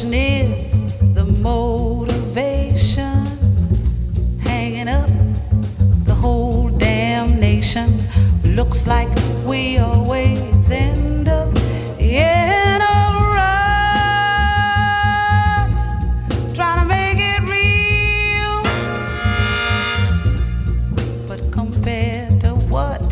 question is the motivation hanging up the whole damn nation. Looks like we always end up in a rut, trying to make it real. But compared to what?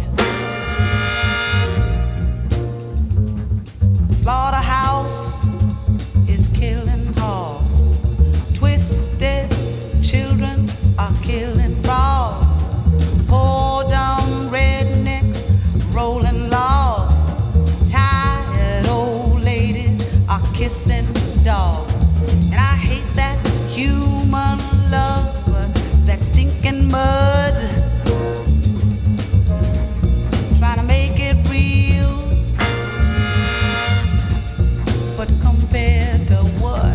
Slaughterhouse is killing hogs. Twisted children are killing frogs. Poor dumb rednecks rolling logs. Tired old ladies are kissing dogs. And I hate that human love, that stinking mud, trying to make it real. But compared to what?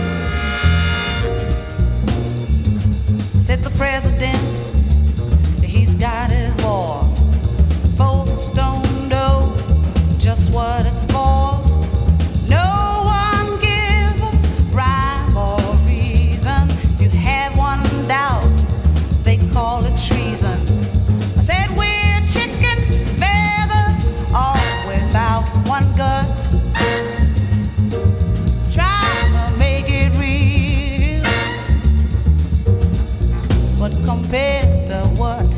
Said the president, he's got his war. Folks don't know just what it's for. No one gives us rhyme or reason. If you have one doubt, they call it treason. I said we're chicken feathers, all without one gut. Try to make it real, but compared to what?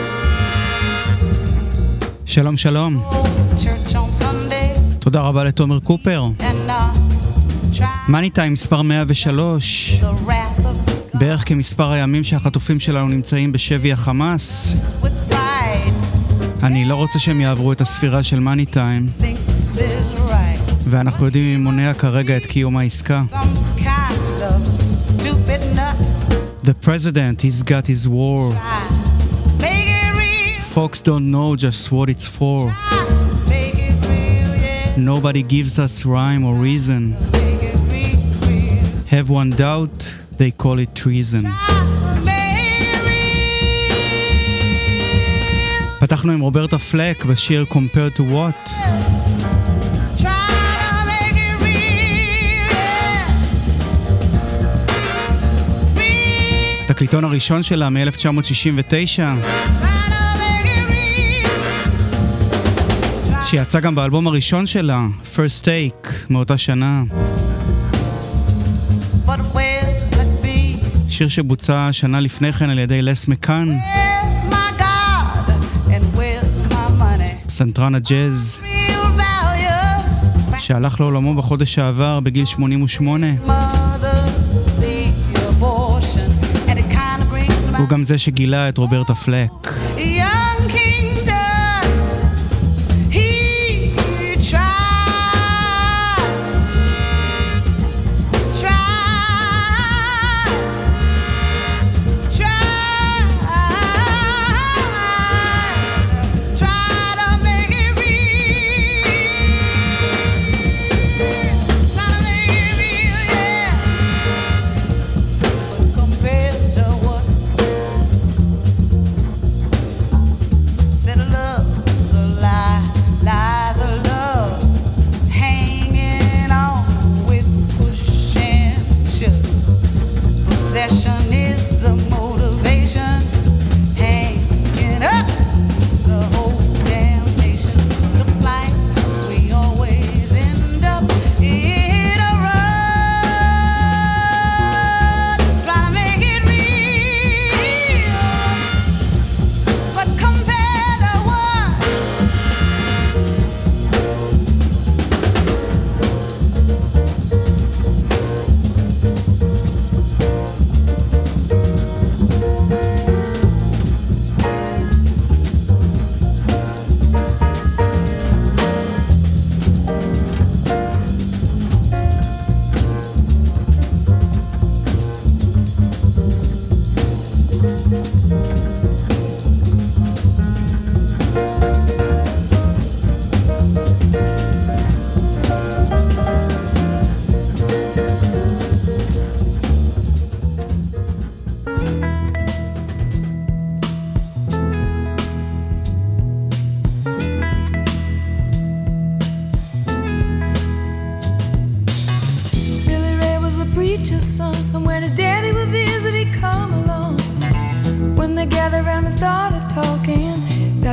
שלום שלום, Church on Sunday תודה רבה לתומר קופר. and try מאני טיים מספר 103, the wrath of God בערך כמספר הימים שהחטופים שלנו נמצאים בשבי החמאס. with pride. אני לא רוצה שהם יעברו את הספירה של מאני טיים, Thinks is right. ואנחנו יודעים מי מונע כרגע את קיום העסקה. Some kind of stupid nut. The president, he's got his war. Make it real. Folks don't know just what it's for. Make it real, yeah. Nobody gives us rhyme or reason. Make it real. Have one doubt, they call it treason. Make it real. פתחנו עם רוברטה פלק בשיר Compared to What. Try to make it real, yeah. Real. התקליטון הראשון שלה מ-1969, שיצא גם באלבום הראשון שלה, First Take, מאותה שנה. But where's that be? שיר שבוצע שנה לפני כן על ידי לס מקאן, Where's my God and where's my money? פסנתרן הג'אז, Real values. שהלך לעולמו בחודש שעבר בגיל 88. Mothers, the abortion, and it kind of brings הוא my גם זה שגילה את רוברטה פלק. young kingdom. He tried, try to make it real. Try to make it real, yeah. Compared to what?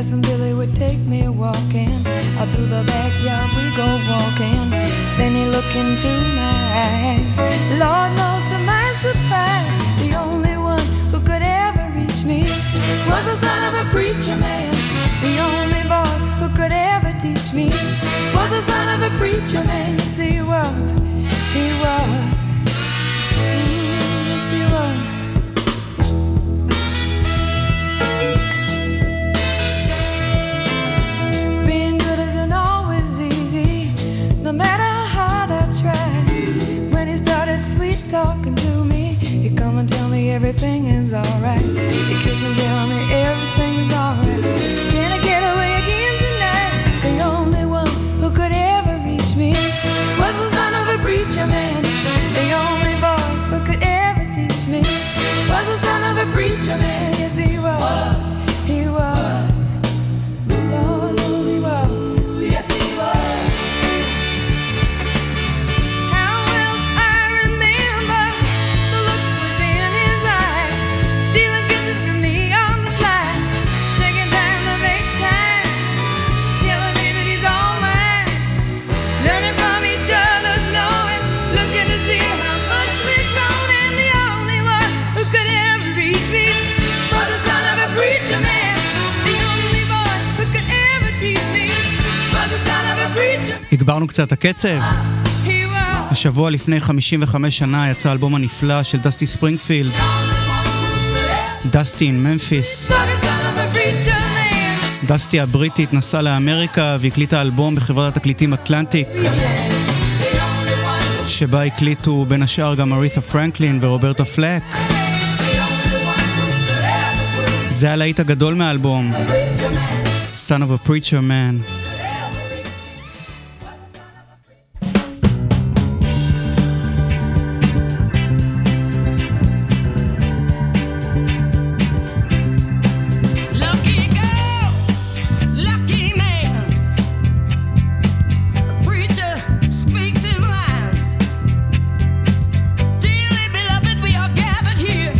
Cousin Billy would take me walking. Out through the backyard we go walking. Then he looked into my eyes. Lord knows to my surprise, the only one who could ever reach me was the son of a preacher man. The only boy who could ever teach me was the son of a preacher man. Yes, he was. He was. Yes, he was. Being good isn't always easy, no matter how hard I try. When he started sweet talking to me, he'd come and tell me everything is alright. He'd kiss and tell me everything is alright. Can I get away again tonight? The only one who could ever reach me was the son of a preacher man. The only boy who could ever teach me was the son of a preacher man. Yes, he was. He was. Lord knows he was. Yes, he was. How will I remember the look was in his eyes, stealing kisses from me on the slide, taking time to make time, telling me that he's all mine, learning from each other's knowing, looking to see how much we've grown, and the only one who could ever reach me was the son of a preacher man. The only boy who could ever teach me was the son of a preacher. הגברנו קצת הקצב. He was. השבוע לפני 55 שנה יצא האלבום הנפלא של דסטי ספרינגפילד, דסטי אין ממפיס. Was the son of a preacher man. דסטי הבריטית נסעה לאמריקה והקליטה אלבום בחברת התקליטים אטלנטיק, שבה הקליטו בין השאר גם אריתה פרנקלין ורוברטה פלק. זה הלהיט הגדול מהאלבום, Son of a Preacher Man. Lucky girl, lucky man. The preacher speaks his lines. Dearly beloved, we are gathered here.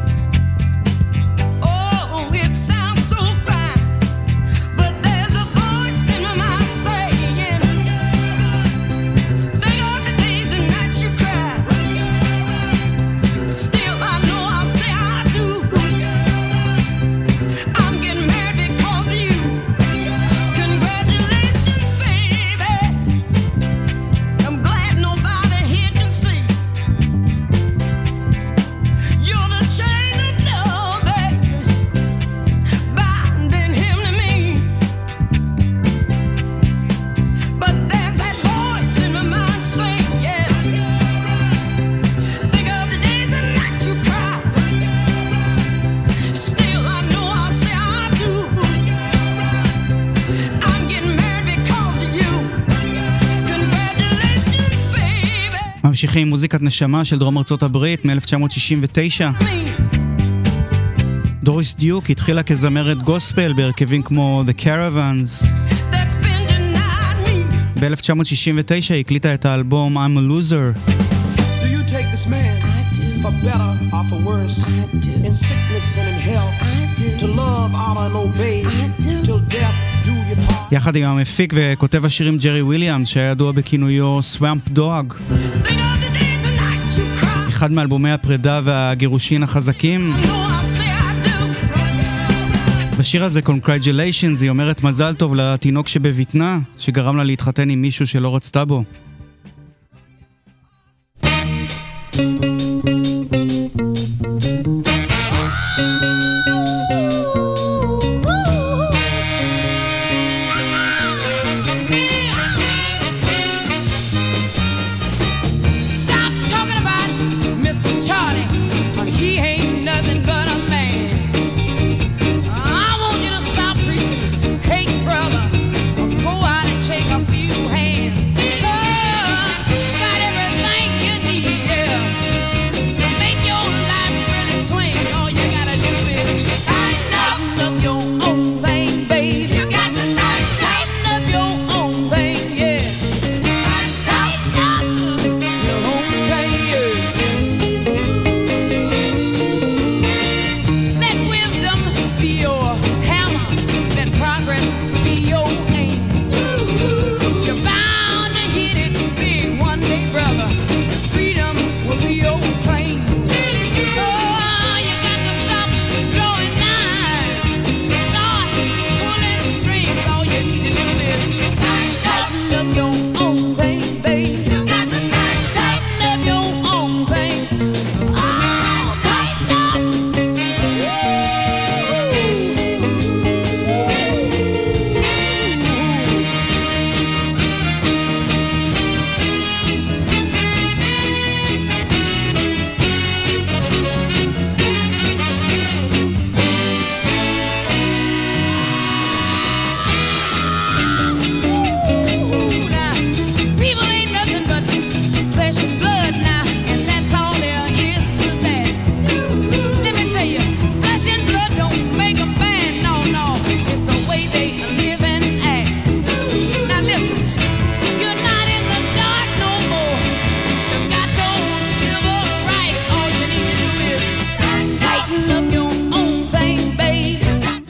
Oh, it sounds so fine. But there's a voice in my mind saying, think of the days and nights you cried. Still, I know I'll say I do. I'm getting married because of you. Congratulations, baby. I'm glad nobody here can see. You're the chain of love, baby, binding him to me. But there's that voice in my mind saying, yeah, think of the days and nights you cried. Still, I know I'll say I do. I'm getting married because of you. Congratulations, baby. ממשיכים עם מוזיקת נשמה של דרום ארצות הברית מ-1969. Me. דוריס דיוק התחילה כזמרת גוספל בהרכבים כמו The Caravans. That's been denied me. ב-1969 הקליטה את האלבום I'm a Loser. Do you take this man for better or for worse? In sickness and in health? To love, honor and obey? Till death do you part? יחד עם המפיק וכותב השירים ג'רי וויליאמס, שהיה ידוע בכינויו Swamp Dog. Think of the days and nights you cried. אחד מאלבומי הפרידה והגירושין החזקים. I know I'll say I do. בשיר הזה Congratulations היא אומרת מזל טוב לתינוק שבבטנה, שגרם לה להתחתן עם מישהו שלא רצתה בו. Stop talking about Mr. Charlie. He ain't nothing but a man. I want you to stop preaching hate, brother. Go out and shake a few hands. Hey!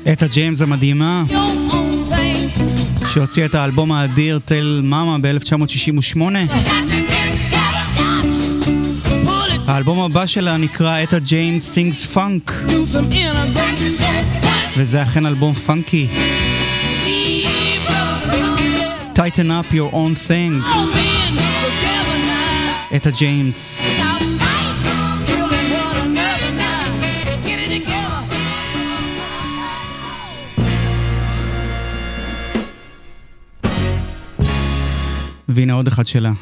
אתה ג'יימס המדהימה, שהוציאה את האלבום האדיר טל מאמה ב-1968. האלבום הבא שלה נקרא אתה ג'יימס סינגס פאנק, וזה אכן אלבום פאנקי. Tighten up your own thing. אתה ג'יימס. והנה עוד אחד שלה.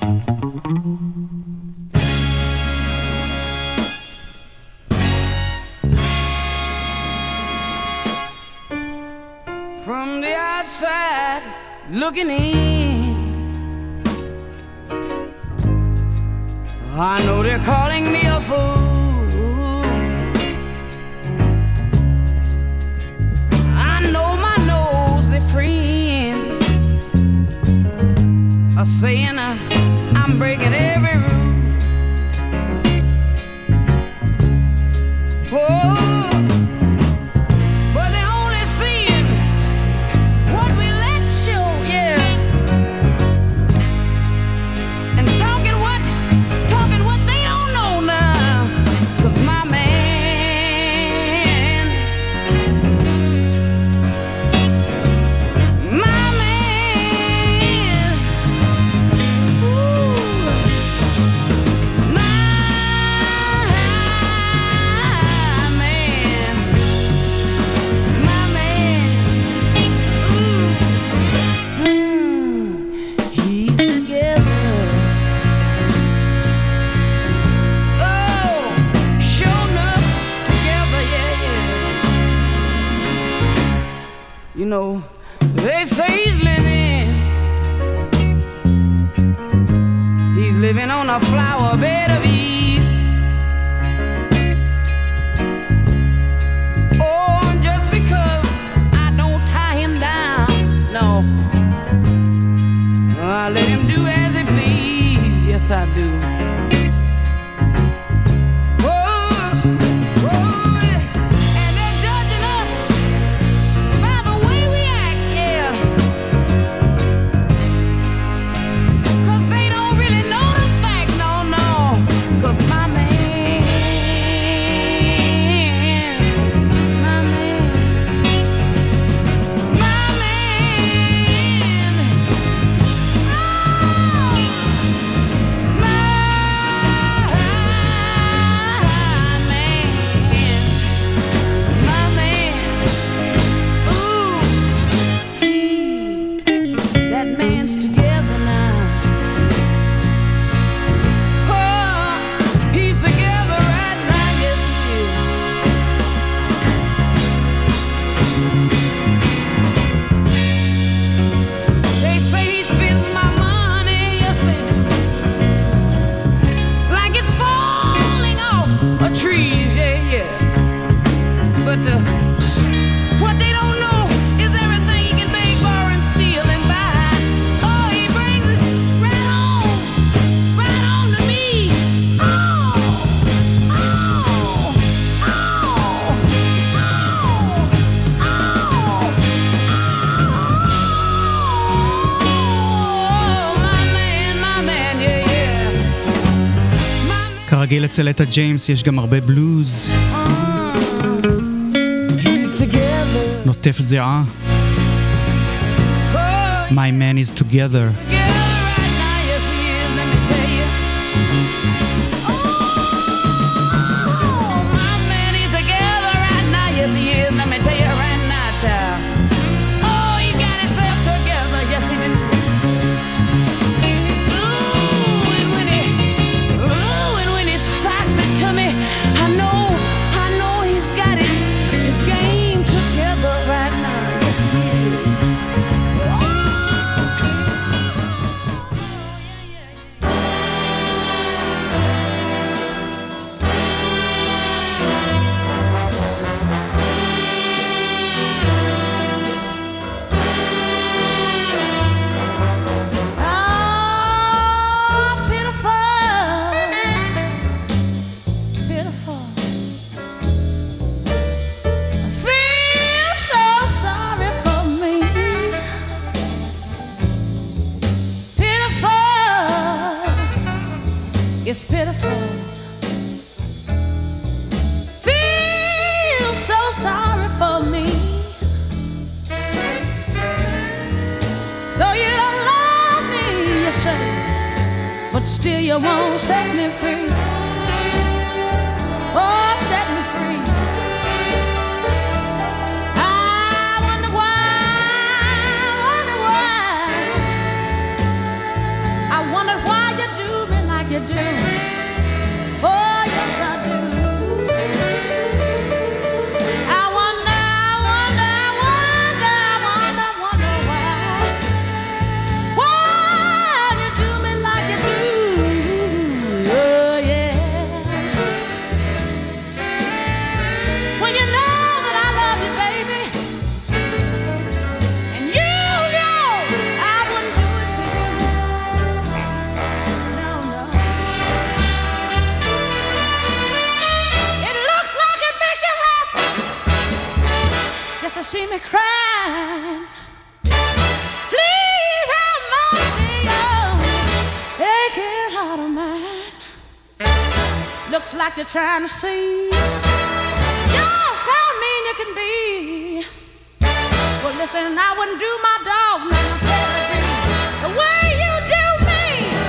From the outside looking in, I know they're calling me a fool. I know my nosy friends are saying I'm breaking every rule. Oh, but they're only seeing what we let show, yeah. And talking what they don't know now. 'Cause my man, you know, they say he's living on a flower bed of ease. Oh, just because I don't tie him down, no, I let him do as he please. Yes, I do. כרגיל אצל אתה ג'יימס יש גם הרבה בלוז, נוטף זיעה. My man is together. It's pitiful. Feel so sorry for me. Though you don't love me, you say, but still you won't set me free. Oh, set me free. I wonder why. I wondered why you do me like you do. Oh, yes, I do. I wonder why you do me like you do. Oh, yeah. When you know that I love you, baby, and you know I wouldn't do it to you. No, no. It looks like it makes you happy just to see me crying. Please have mercy on aching heart of mine. Looks like you're trying to see just how mean you can be. Well, listen, I wouldn't do my dog none better the way you do me.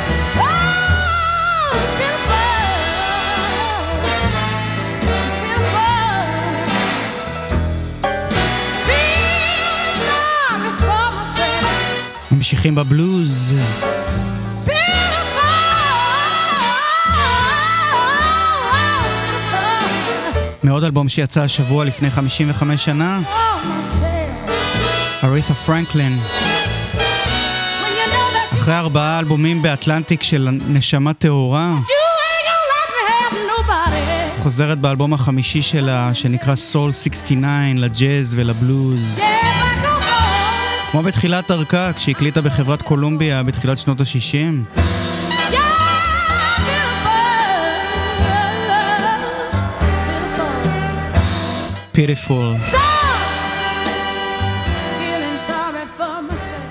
Oh, beautiful, beautiful. Feel sorry for myself. ממשיכים בבלוז. מעוד אלבום שיצא השבוע לפני 55 שנה, אריתה פרנקלין. אחרי 4 אלבומים באטלנטיק של נשמה טהורה, חוזרת באלבום החמישי שלה שנקרא Soul 69 לג'אז ולבלוז. כמו בתחילת דרכה כשהקליטה בחברת קולומביה בתחילת שנות ה-60. Pitiful. Feeling sorry for myself.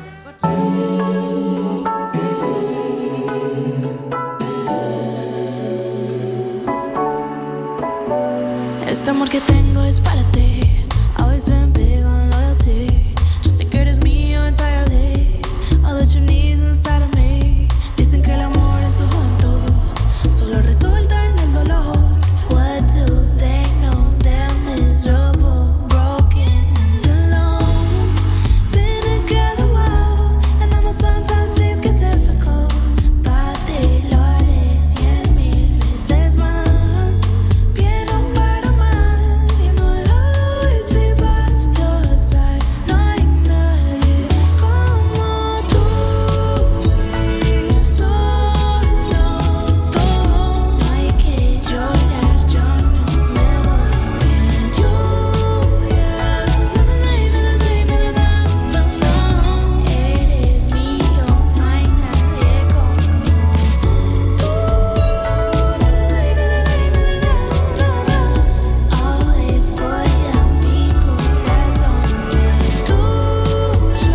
Este amor que tengo es para ti. Always been big on loyalty. Just take it as mío entirely. All that you need inside of me. Dicen que el amor en su juventud solo resulta en el dolor. What do they know? They're miserable, broken and alone. Been together a while, and I know sometimes things get difficult. Valores 100,000 veces más. Viene para más, you know I'll always be by your side. No hay nadie como tú. Y solo todo. No hay que llorar, yo no me voy bien. Lluvia, eres mío, no hay nadie como tú. Always voy a mi corazón es tuyo.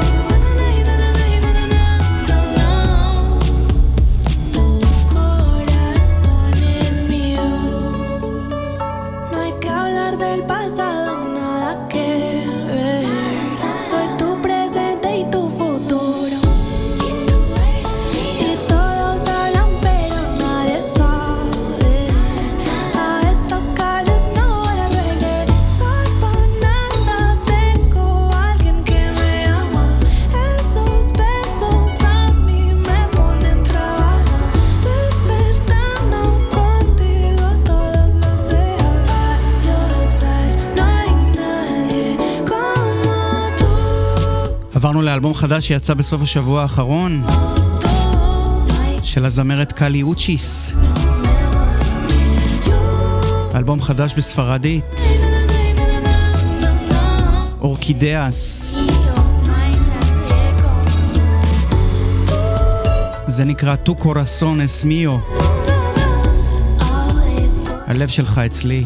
Tu corazón es mío. No hay que hablar del pasado, nada que ver. Soy tu presente y tu futuro. Y todos hablan pero nadie sabe. A estas calles no voy a regresar para nada. Tengo alguien que me ama. Esos besos a mí me ponen trabada. Despertando contigo todos los días. Your side, no hay nadie como tú. עברנו לאלבום חדש שיצא בסוף השבוע האחרון של הזמרת קלי אוצ'יס. אלבום חדש בספרדית, אורקידאס. זה נקרא Tu corazón es mío. הלב שלך אצלי.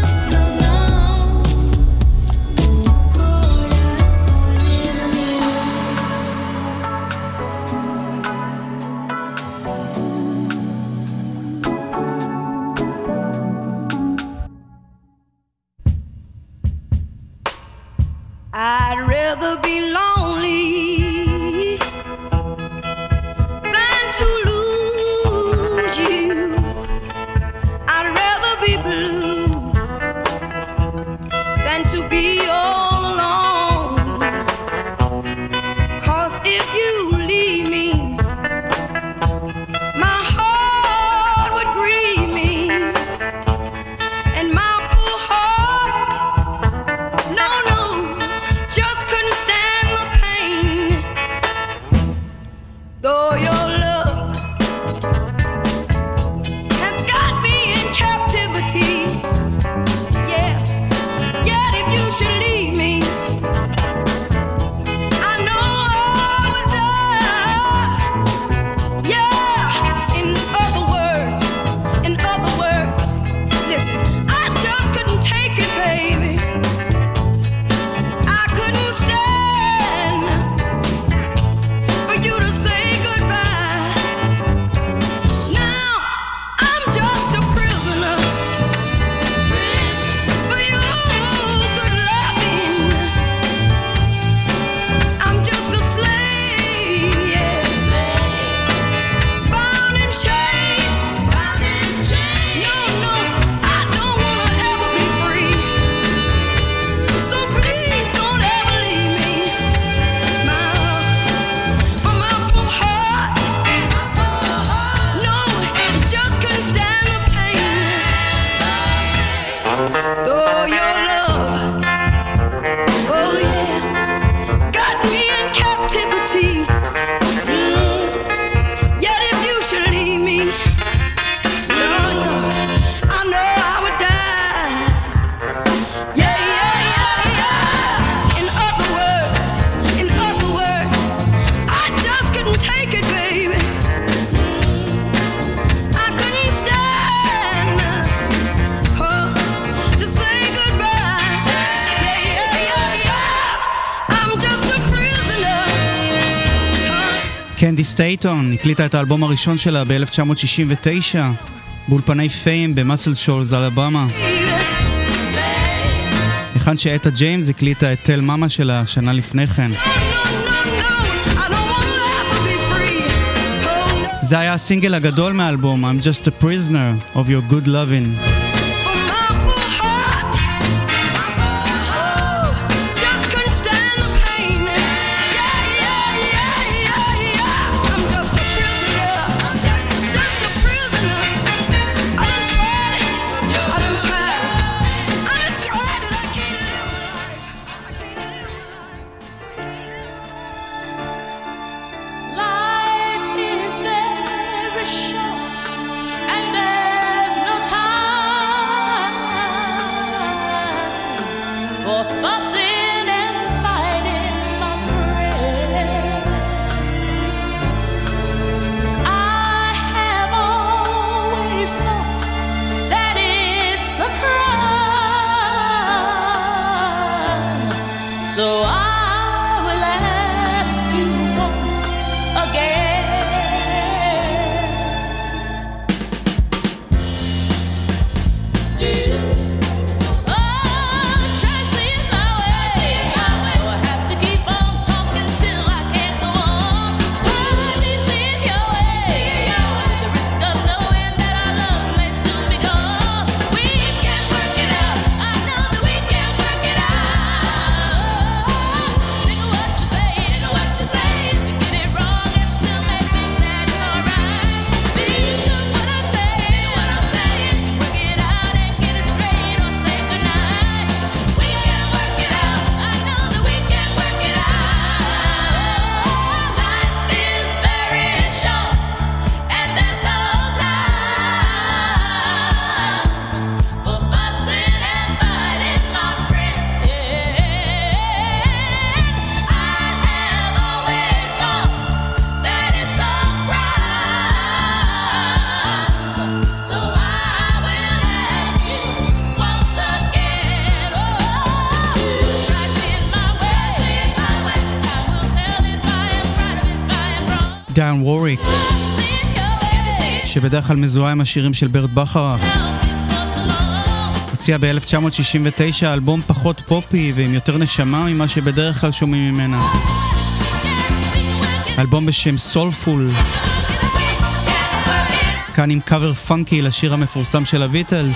Tu corazón es mío. I'd rather be lonely than to lose you. I'd rather be blue than to be all alone. 'Cause if you leave me, my heart would grieve me, and my poor heart, no, just couldn't stand the pain. Though your love has got me in captivity, yeah, yet if you should leave me, I know I would die. Yeah, in other words, listen, I just couldn't take it, baby. I couldn't stand for you to say goodbye. Now I'm just a prisoner for your good loving. I'm just a slave, yes, bound in chains. No, I don't wanna ever be free. So please don't ever leave me, for my poor heart, no, it just couldn't stand the pain. Though your love, oh yeah, got me in captivity, yet if you should leave me, no, I know I would die. Yeah. In other words, I just couldn't take it, baby. I couldn't stand to say goodbye. Yeah. I'm just a prisoner. קנדי סטייטון הקליטה את האלבום הראשון שלה ב-1969 באולפני פיים במאסל שולס, אלבמה. היכן שאתה ג'יימס הקליטה את טל מאמה שלה שנה לפני כן. I don't want to ever be free. זה היה הסינגל הגדול מהאלבום, I'm just a prisoner of your good loving. For my poor heart, just couldn't stand the pain. Yeah. I'm just a prisoner. Just a prisoner. I done tried it. I done tried it. I can't live life. Life is very short, and there's no time for fussing and fighting, my friend. I have always thought that it's a crime, so I will ask you once again. Oh, try seeing my way. I have to keep on talking till I can't go on. Hardly seeing your way. With the risk of knowing that our love may soon be gone. We can work it out. I know that we can work it out. Think of what you're saying, You get it wrong and still may think that it's alright. Think of what I'm saying, You can work it out and get it straight or say goodnight. We can work it out. I know that we can work it out. Life is very short, and there's no time for fussing and fighting, my friend. I have always thought that it's a crime, so I will ask you once again. Oh, try seeing my way. Time will tell if I am right or if I am wrong. דן ווריק, Seeing your way. שבדרך כלל מזוהה עם השירים של ברט בכרך, הוציא הוציאה ב-1969 אלבום פחות פופי ועם יותר נשמה ממה שבדרך כלל שומעים ממנה. אלבום בשם סולפול, כאן עם קאבר פאנקי לשיר המפורסם של הביטלס.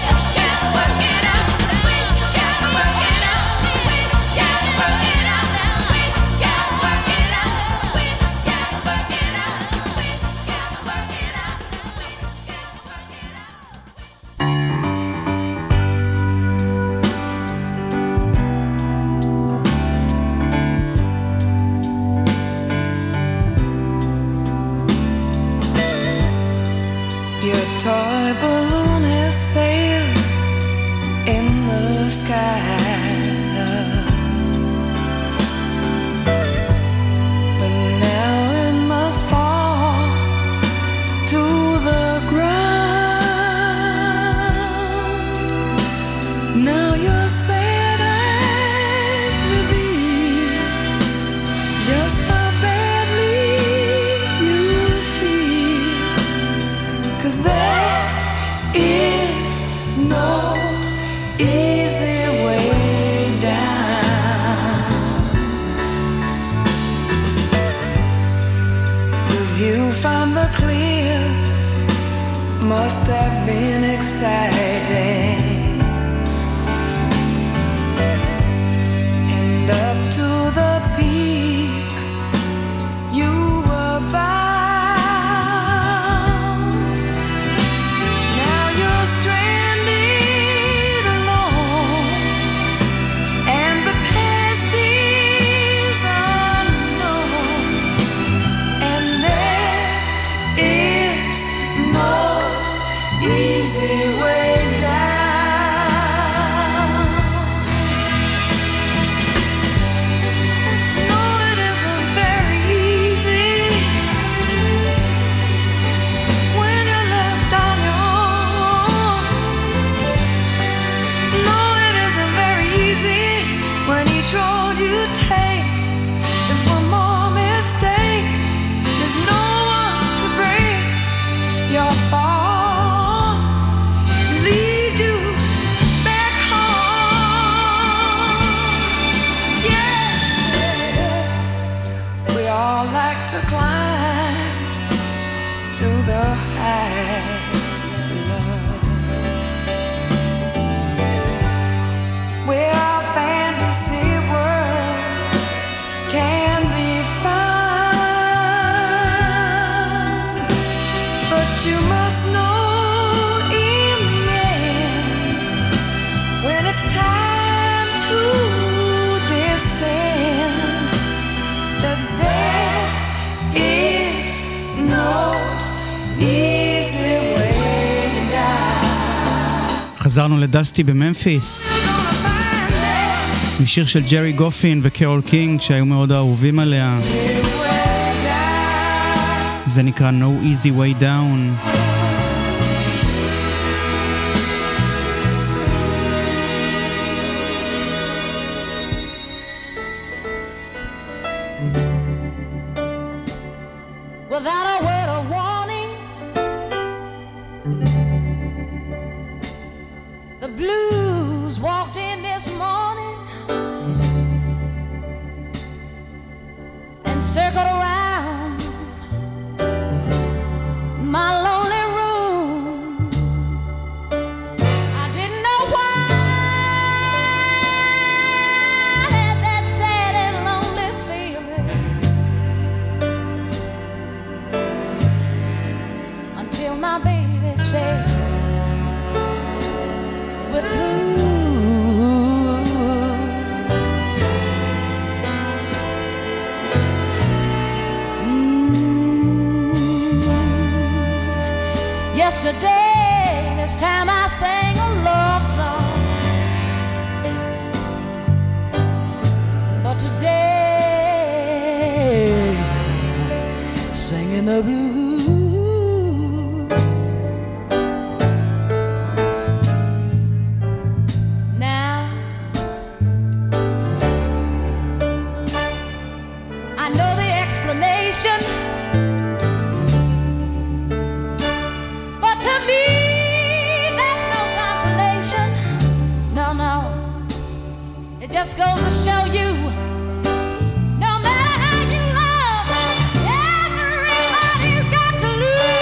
חזרנו לדסטי בממפיס עם שיר של ג'רי גופין וקרול קינג שהיו מאוד אהובים עליה. זה נקרא No Easy Way Down. Yesterday, this time I sang a love song, but today, singing the blues. Now, I know the explanation, goes to show you, no matter how you love, everybody's got to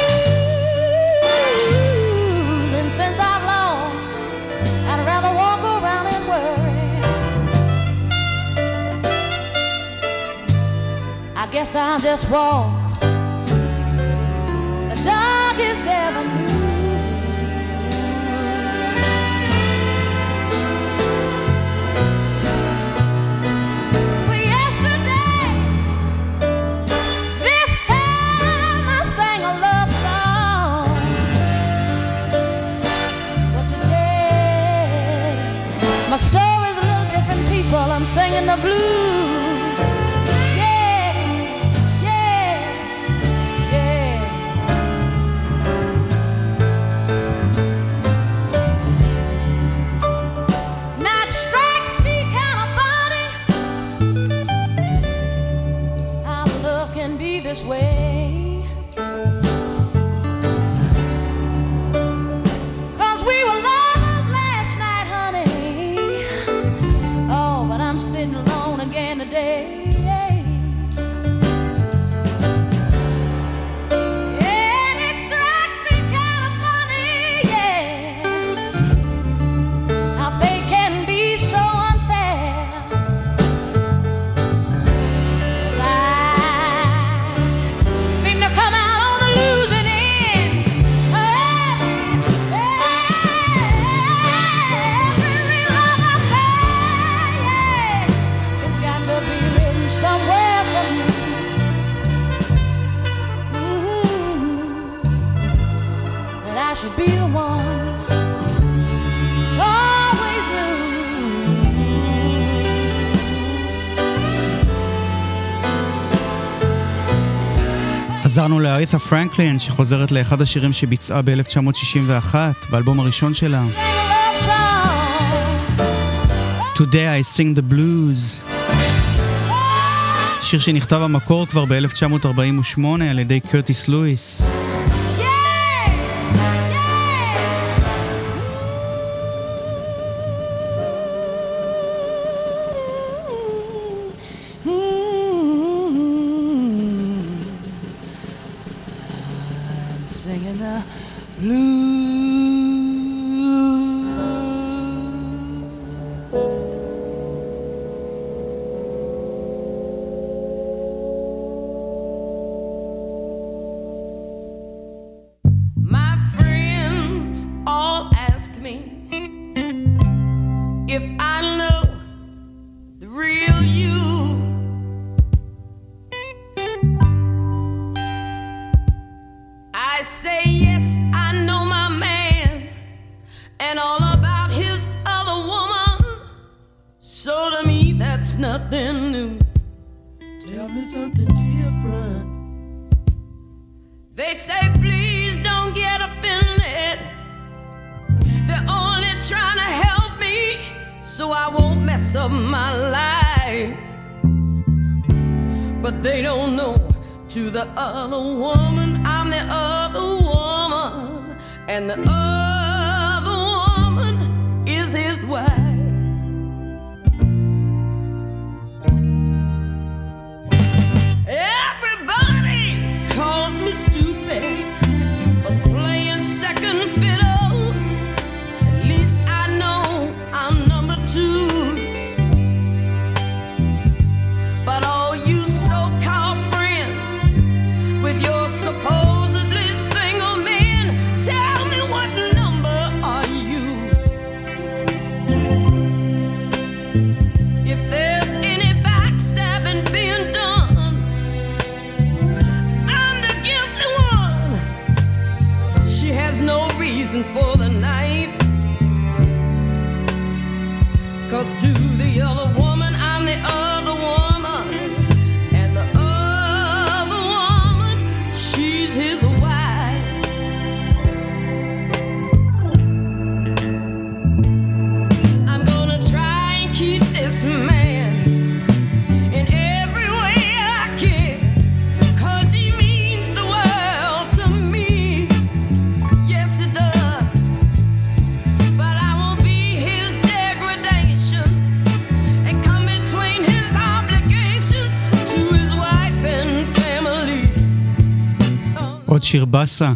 lose. And since I've lost, I'd rather walk around and worry. I guess I'll just walk the darkest avenue. For yesterday, this time I sang a love song, but today my story's a little different, people. I'm singing the blues. This way, 'cause we were lovers last night, honey. Oh, but I'm sitting alone again today. And it strikes me kind of funny, yeah, how fate can be so unfair. 'Cause come out on the losing end. Every love affair, yeah, it's got to be written somewhere for me. That I should be the one to always lose. חזרנו לאריתה פרנקלין, שחוזרת לאחד השירים שביצעה ב-1961, באלבום הראשון שלה. Today I Sing the Blues. שיר שנכתב במקור כבר ב-1948 על ידי קרטיס לואיס. Singing the blues. My friends all ask me if I know the real you. I say yes, I know my man and all about his other woman. So to me that's nothing new. Tell me something different. They say please don't get offended. They're only trying to help me so I won't mess up my life. But they don't know, to the other woman, I'm the other woman, and the other woman is his wife. Everybody calls me stupid for playing second fiddle. At least I know I'm number two. But all you so-called friends with your supposedly single men, tell me what number are you? If there's any backstabbing being done, I'm the guilty one. She has no reason for the night, 'cause to the other woman, I'm the other woman, and the other woman, she's his wife. I'm gonna try and keep this man עוד שיר בסה.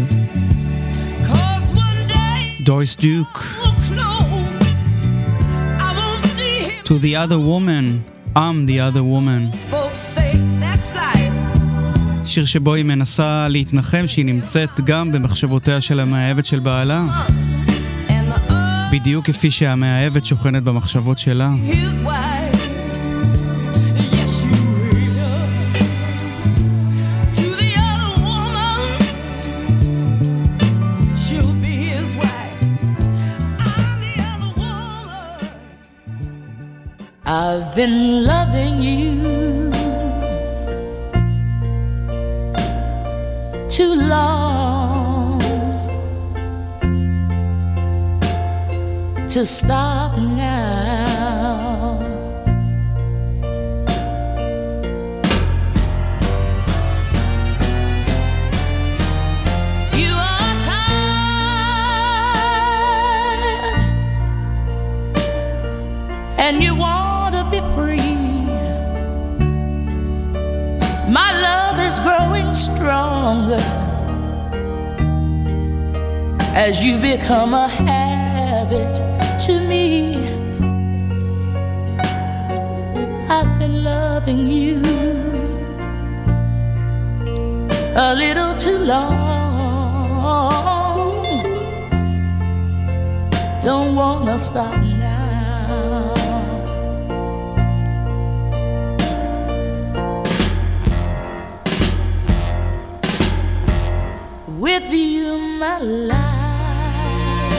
דוריס דוק. To the other woman, I'm the other woman. שיר שבו היא מנסה להתנחם שהיא נמצאת גם במחשבותיה של המאהבת של בעלה. בדיוק כפי שהמאהבת שוכנת במחשבות שלה. I've been loving you too long to stop now. You are tired and you want to be free. My love is growing stronger as you become a habit to me. I've been loving you a little too long. Don't wanna stop now. With you, my life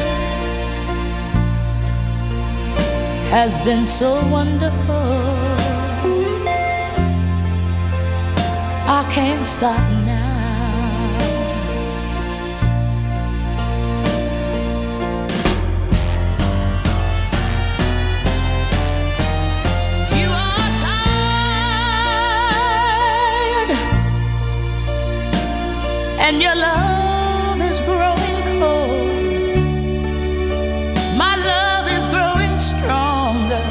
has been so wonderful. I can't stop now. You are tired and your love is growing cold. My love is growing stronger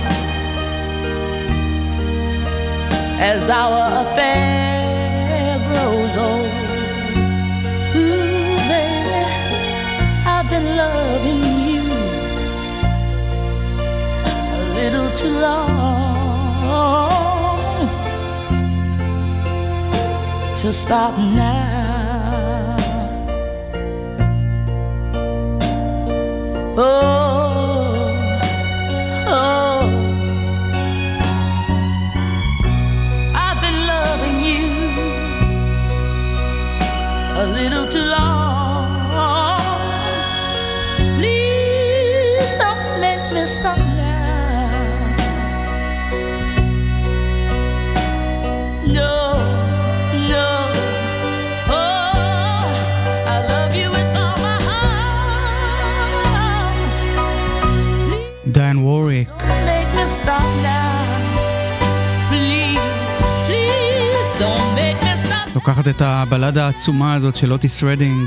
as our affair grows old. Ooh, baby, I've been loving you a little too long to stop now. Oh, oh, I've been loving you a little too long. Please don't make me stop now. No, no, oh, I love you with all my heart. דיין ווריק. Don't make me stop now. Please, please don't make me stop. לוקחת את הבלדה העצומה הזאת של אוטיס רדינג. No,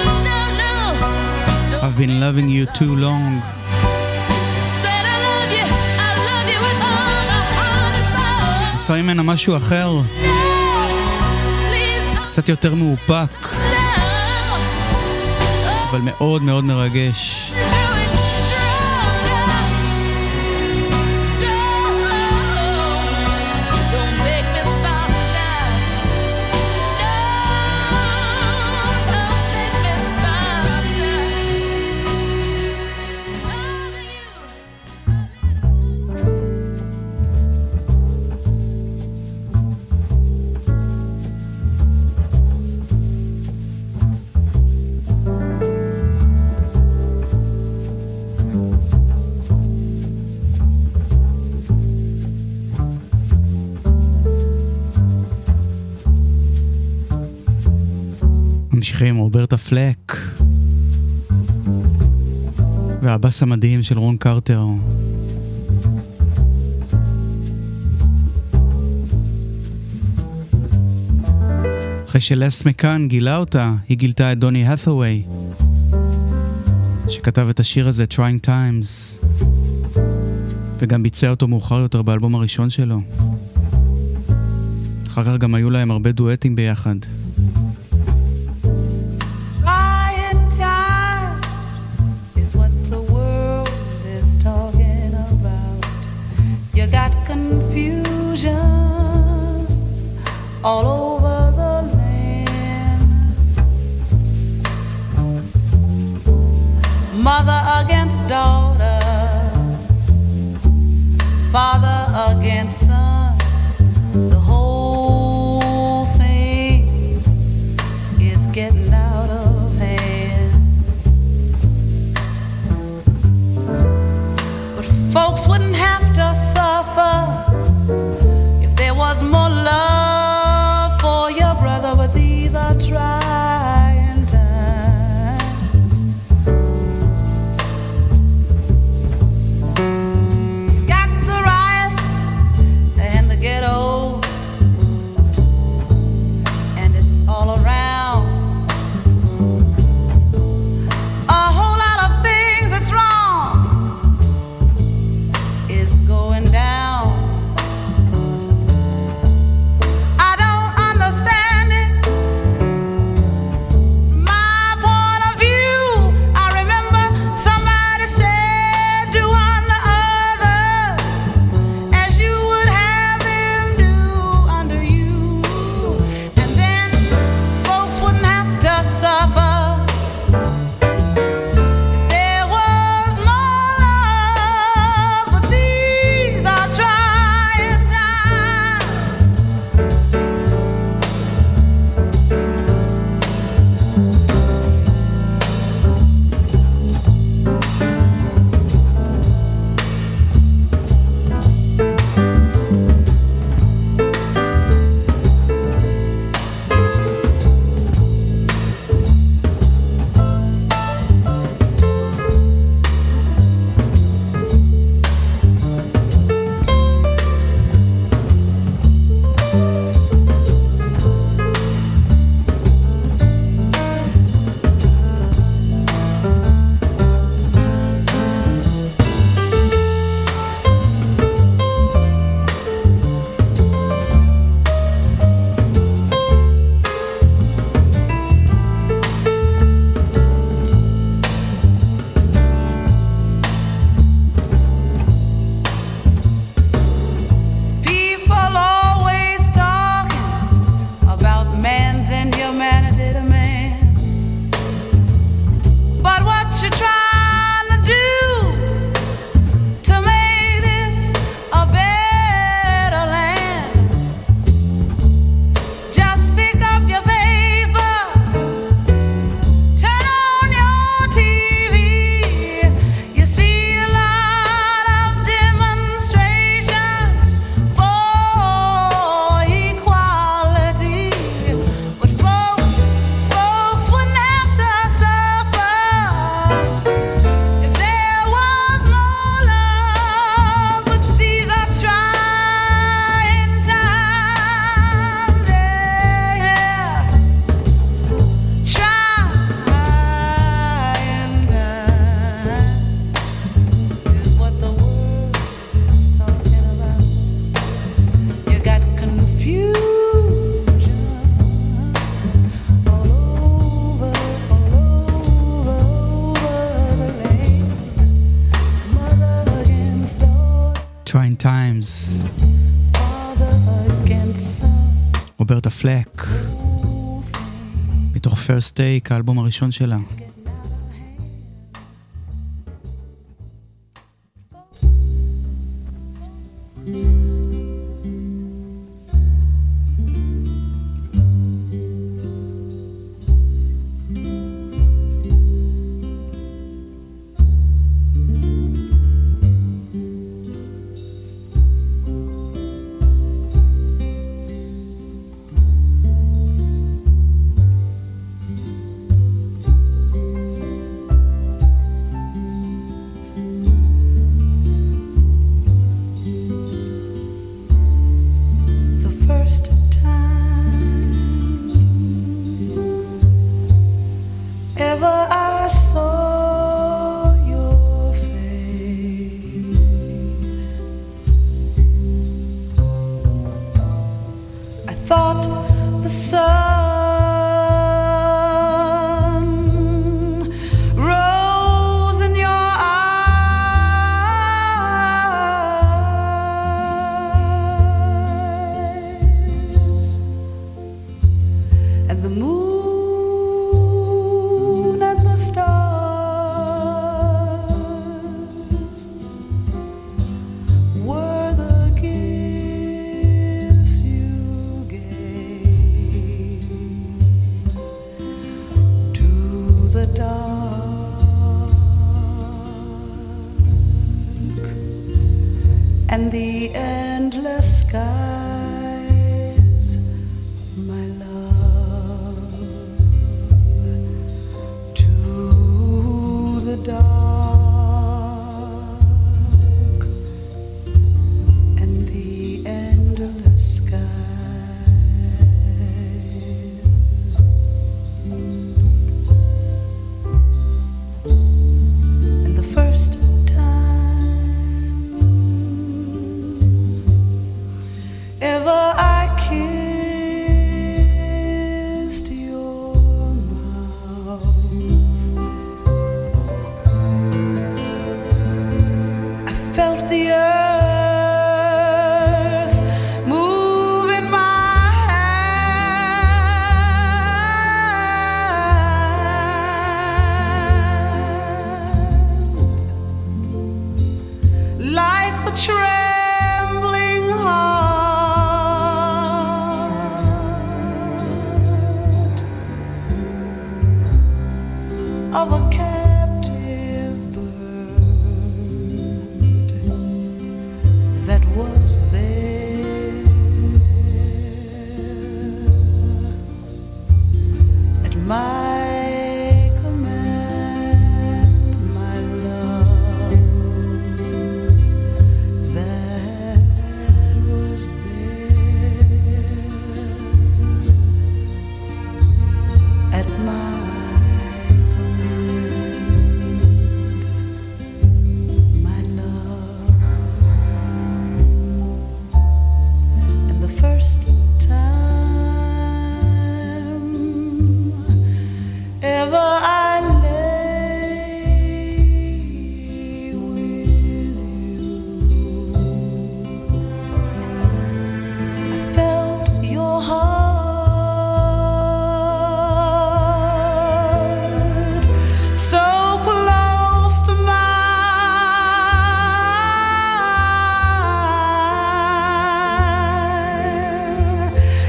no. I've been loving you too long. Said I love you with all my heart and soul. עושה ממנה משהו אחר, No, please קצת יותר מאופק, no. אבל מאוד מאוד מרגש. Growing stronger. Don't make me stop now. No, don't make me stop now. Loving you. ממשיכים, רוברטה פלק והבאס המדהים של רון קרטר. אחרי שלס מקאן גילה אותה, היא גילתה את דוני האת'ווי שכתב את השיר הזה Trying Times וגם ביצע אותו מאוחר יותר באלבום הראשון שלו. אחר כך גם היו להם הרבה דואטים ביחד. all over the land. Mother against daughter, father against son, the whole thing is getting out of hand. But folks wouldn't have to suffer if there was more love for your brother, but these are trying times. Got the riots and the ghetto, and it's all around. A whole lot of things that's wrong is going down. I don't understand it. My point of view, I remember somebody said, do unto others as you would have them do unto you, and then folks wouldn't have to suffer. If there was more love, but these are trying times. People always talking about man's inhumanity to man, but what you trying to do to make this a better land? Just pick up your paper, turn on your TV, you see a lot of demonstration for equality. But folks wouldn't have to suffer if there was more love. But these are trying times, yeah. Trying times is what the world is talking about. You got confusion all over the land. Mother against daughter, Trying Times, father against son. רוברטה פלק, מתוך First Take, האלבום הראשון שלה. The first time ever I saw your face, I thought the sun rose in your eyes.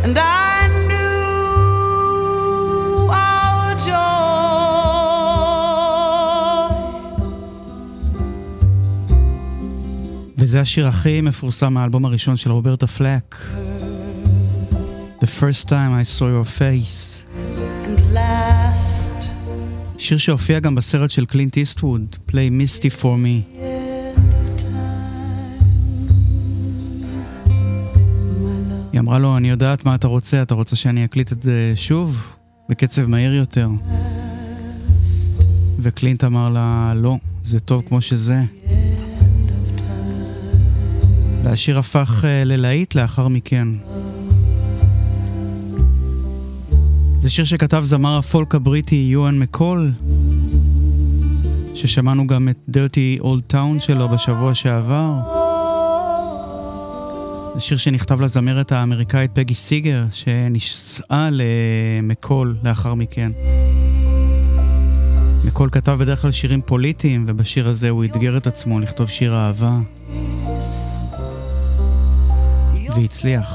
and I knew our joy. וזה השיר הכי מפורסם מהאלבום הראשון של רוברטה פלק. The first time I saw your face. And last שיר שהופיע גם בסרט של קלינט איסטווד, Play Misty for Me. היא אמרה לו, אני יודעת מה אתה רוצה שאני אקליט את זה שוב, בקצב מהיר יותר. וקלינט אמר לה, לא, זה טוב כמו שזה. והשיר הפך ללהיט לאחר מכן. זה שיר שכתב זמר הפולק הבריטי יואן מקול, ששמענו גם את Dirty Old Town שלו בשבוע שעבר. זה שיר שנכתב לזמרת האמריקאית פגי סיגר, שנשאה למקול לאחר מכן. מקול כתב בדרך כלל שירים פוליטיים, ובשיר הזה הוא התגר את עצמו לכתוב שיר אהבה. והצליח.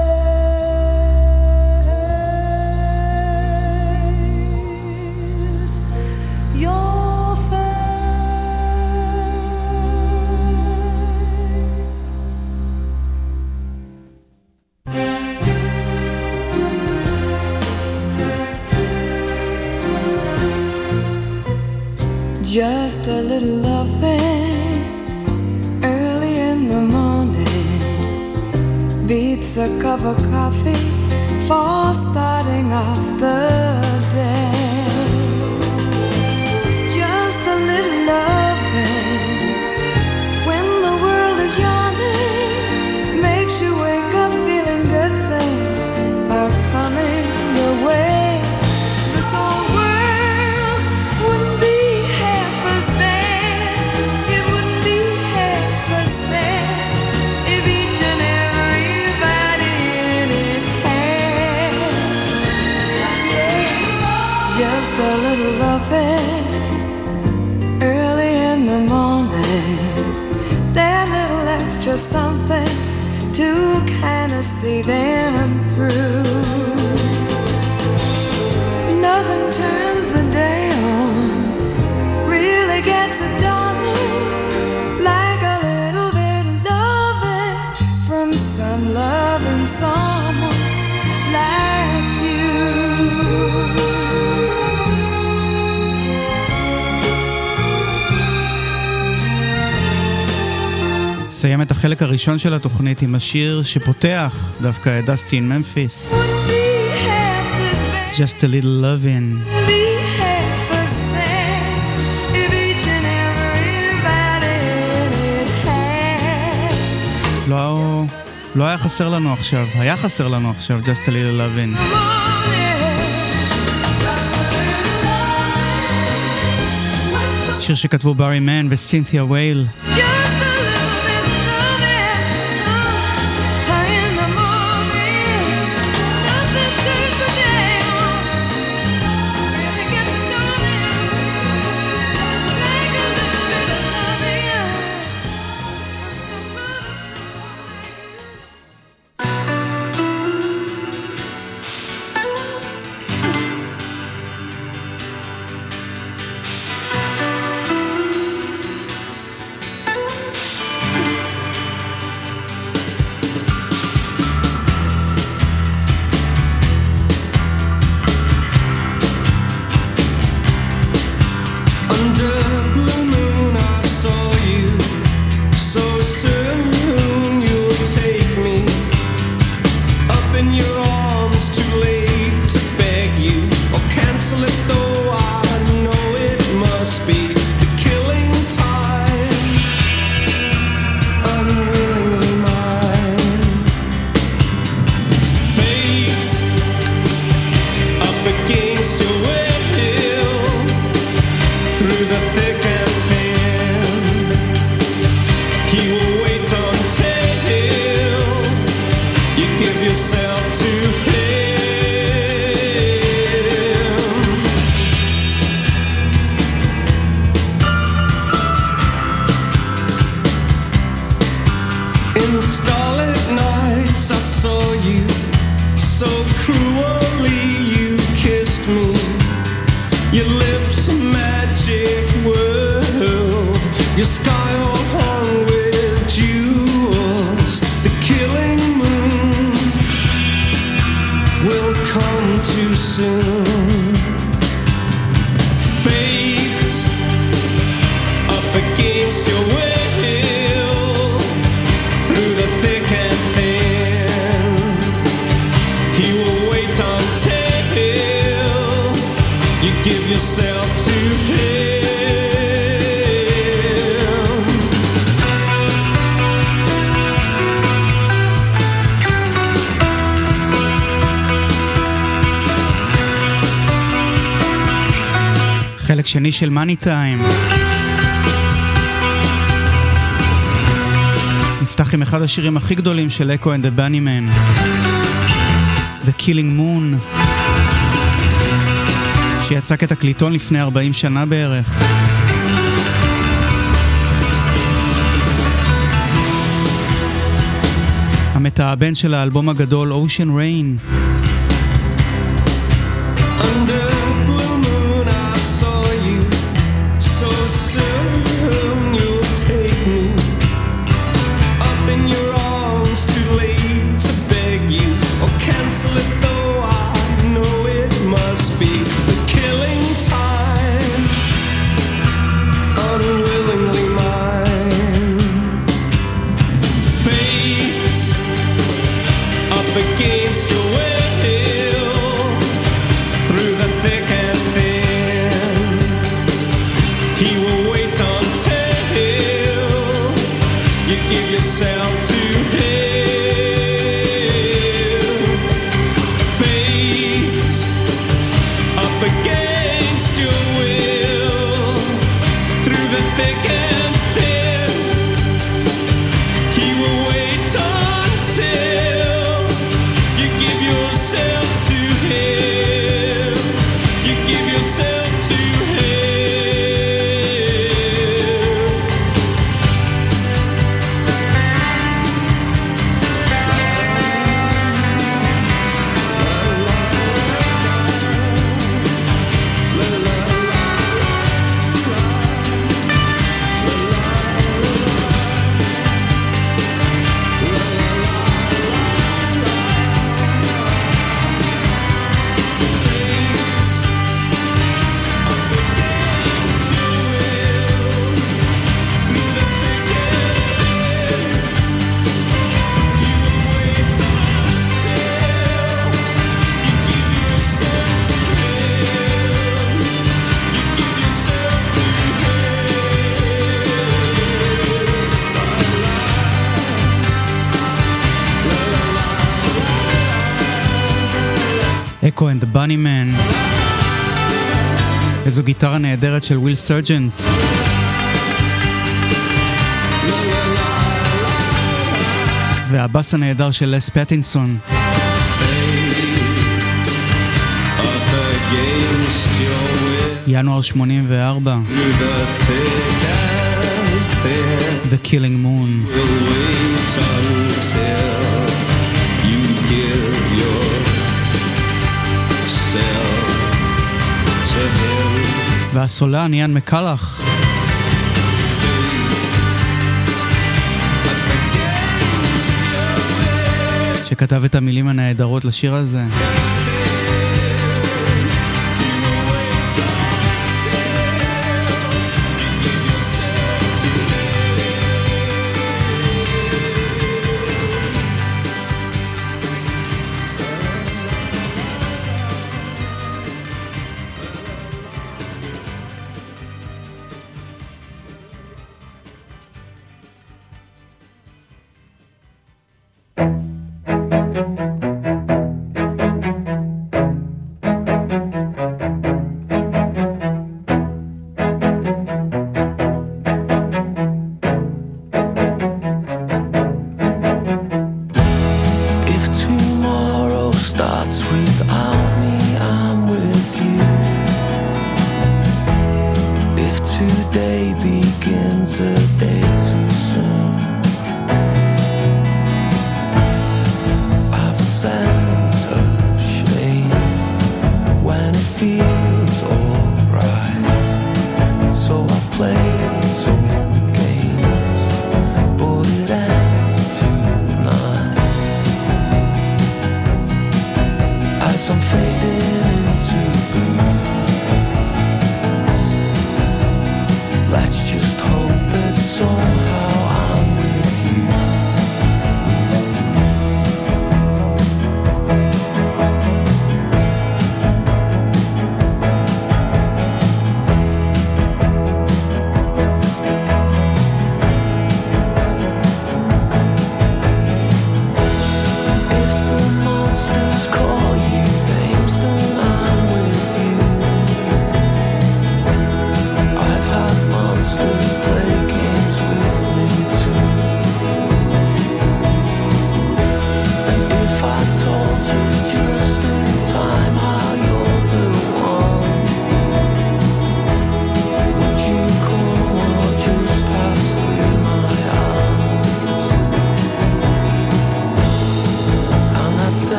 Just a little loving early in the morning beats a cup of coffee for starting off the day. Just a little loving when the world is yawning makes you wake up feeling good things are coming your way. This whole world wouldn't be half as bad, it wouldn't be half as sad if each and everybody in it had, just a little loving early in the morning, that little extra something to kind of see them through. Nothing turns the day on, really gets it dawning, like a little bit of loving from some loving someone like you. סיים את החלק הראשון של התוכנית עם השיר שפותח דווקא את דסטי אין ממפיס. Just a little loving. לא היה חסר לנו עכשיו, היה חסר לנו עכשיו Just a little loving. שיר שכתבו בארי מן וסינתיה וייל. Your sky all hung with jewels. The killing moon will come too soon. Fate up against your will, through the thick and thin. He will wait until you give yourself to him. חלק שני של מאני טיים. נפתח עם אחד השירים הכי גדולים של אקו and the Bunnymen, The Killing Moon, שיצא כתקליטון לפני 40 שנה בערך. המתאבן של האלבום הגדול Ocean Rain. Soon you'll take me up in your arms, too late to beg you or cancel it, though I know it must be the killing time, unwillingly mine. Fate up against your will, through the thick and thin. He will wait until you give yourself to him. Fate up against your will, through the thick and thin. He will wait until you give yourself to him. You give yourself to him. אקו and the Bunnymen. איזו גיטרה נהדרת של וויל סרג'נט. והבאס הנהדר של לס פטינסון. ינואר 84. The Killing Moon. והסולן יאן מקלח, שכתב את המילים הנהדרות לשיר הזה. I've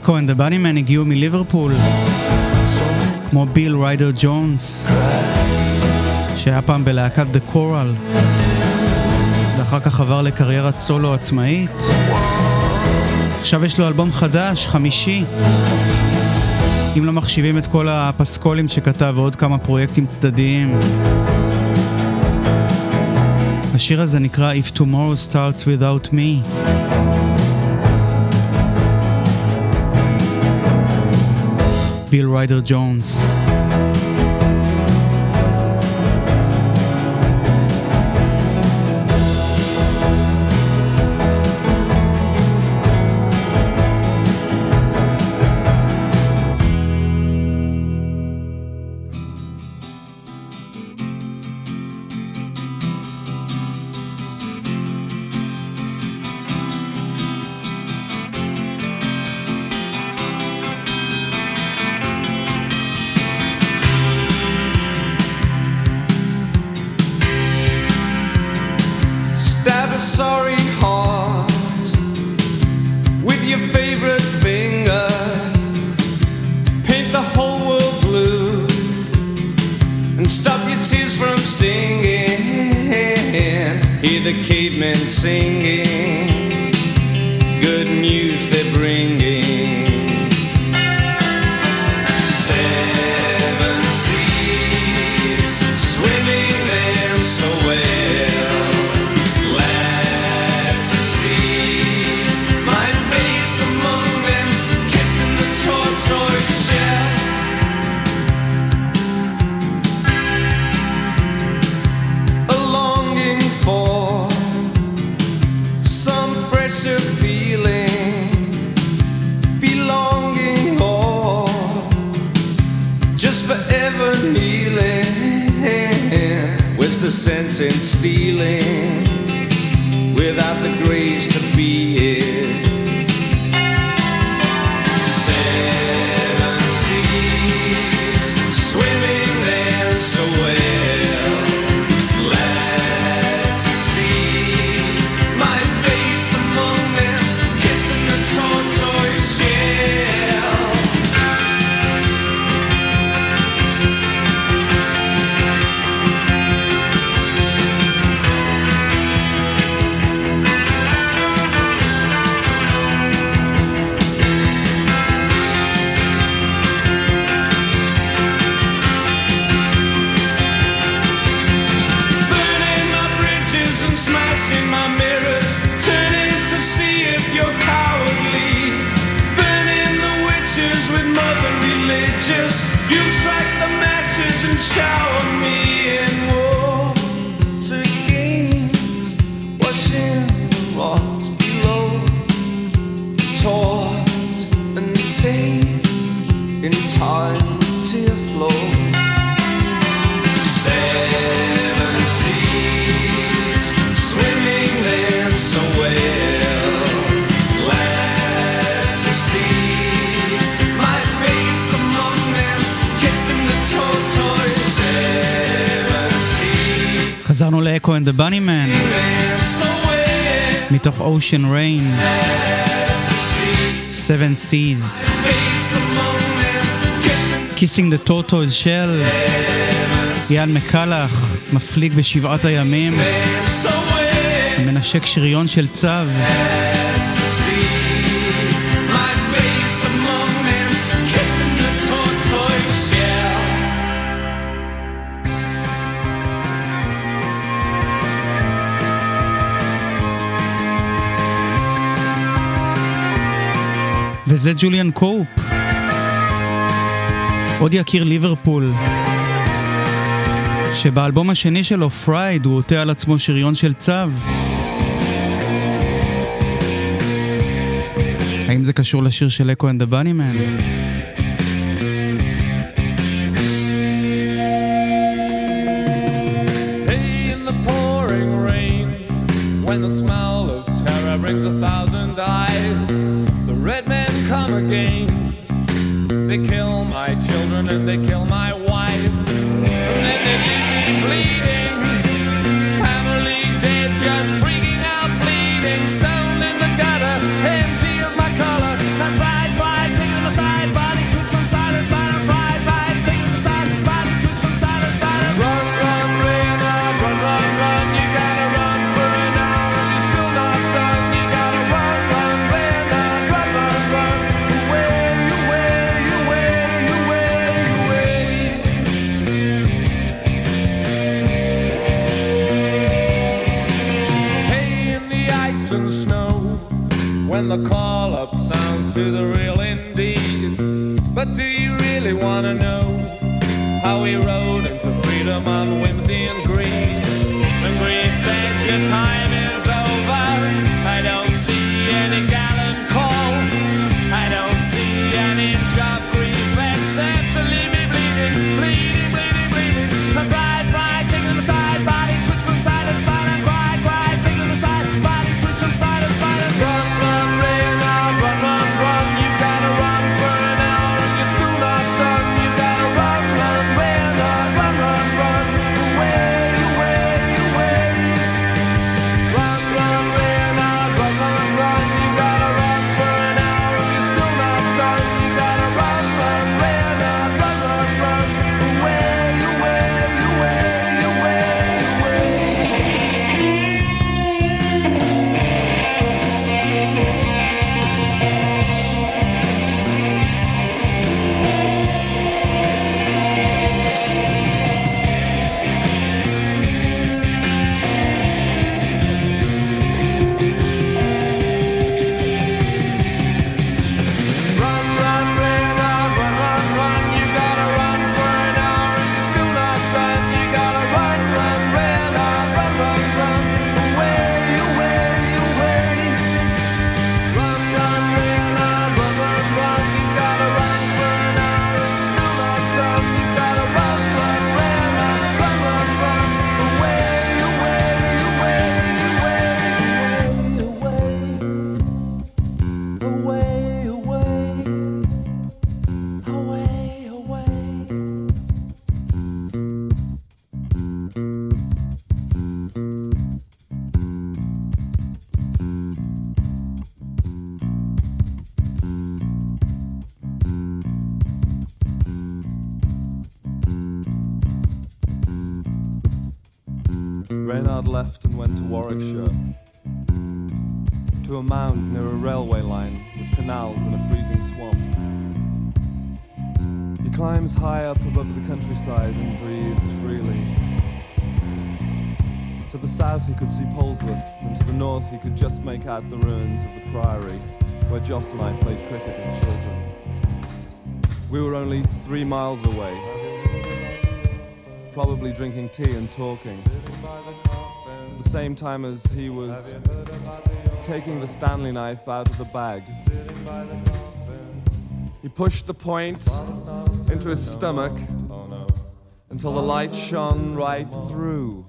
אקו and the Bunnymen הגיעו מליברפול, כמו ביל ריידר ג'ונס, שהיה פעם בלהקת The Coral, ואחר כך עבר לקריירת סולו עצמאית. עכשיו יש לו אלבום חדש, 5, אם לא מחשיבים את כל הפסקולים שכתב ועוד כמה פרויקטים צדדיים. השיר הזה נקרא If Tomorrow Starts Without Me. ביל ריידר ג'ונס. Sorry heart with your favorite finger, paint the whole world blue and stop your tears from stinging. Hear the cavemen singing, good news they're bringing. 7 seas swimming them so well. Forever kneeling, where's the sense in stealing without the grace to be it? 7 seas swimming them so well, glad to see my face among them, kissing the tortoise shell. Smashing my mirrors, turning to see if you're cowardly, burning the witches with mother religious. You strike the matches and shower me in water games, washing the rocks below, taut and tame in time to your flow. 7 seas swimming them so well, glad to see my face among them, kissing the tortoise. 7 seas חזרנו לאקו and the Bunnymen so well, מתוך Ocean Rain, glad to see 7 Seas, face among them, Kissing the Tortoise Shell. יאן מקלח מפליג בשבעת הימים, so well, מנשק שריון של צו. to see my face among them, kissing the tortoise shell. וזה ג'וליאן קופ, עוד יקיר ליברפול, שבאלבום השני שלו, פרייד, הוא עוטה על עצמו שריון של צו. האם זה קשור לשיר של אקו and the Bunnymen? Hey, in the pouring rain, when the smell of terror brings 1,000 eyes, the red men come again. They kill my children and they kill my wife, and then they leave me bleeding. Family dead, just freaking out, bleeding. Stoned in the gutter, empty of my color. I tried fighting when the call-up sounds to the real indeed. But do you really want to know how we rode into freedom on whimsy and greed? And greed said your time is over. I don't see any gallant calls. I don't see an inch of grief except to leave me bleeding, bleeding, bleeding, bleeding. And pride, pride, taking to the side, body twitch from side to side. And pride, pride, taking to the side, body twitch from side to side. And run, run, Reynard, run, run, run. You gotta run for an hour and you're still not done. You gotta run, run, Reynard, run, run, run. Away, away, away. Run, run, Reynard, run, run, run. You gotta run for an hour and you're still not done. You gotta run, run, Reynard, run, run, run. Away, away, away, away, away. Run, run, Reynard, run, run, run. You gotta run for an hour and you're still not done. You gotta run, run, Reynard, run, run, run. Away, away, away. Run, run, Reynard, run, run, run. You gotta run for an hour and you're still not done. You gotta run, run, Reynard, run, run, run. Away, away, away, away, away, away, away, away. Reynard left and went to Warwickshire, to a mound near a railway line with canals and a freezing swamp. He climbs high up above the countryside and breathes freely. To the south he could see Polesworth, and to the north he could just make out the ruins of the priory where Joss and I played cricket as children. We were only 3 miles away, probably drinking tea and talking, at the same time as he was taking the Stanley knife out of the bag. He pushed the point into his stomach until the light shone right through.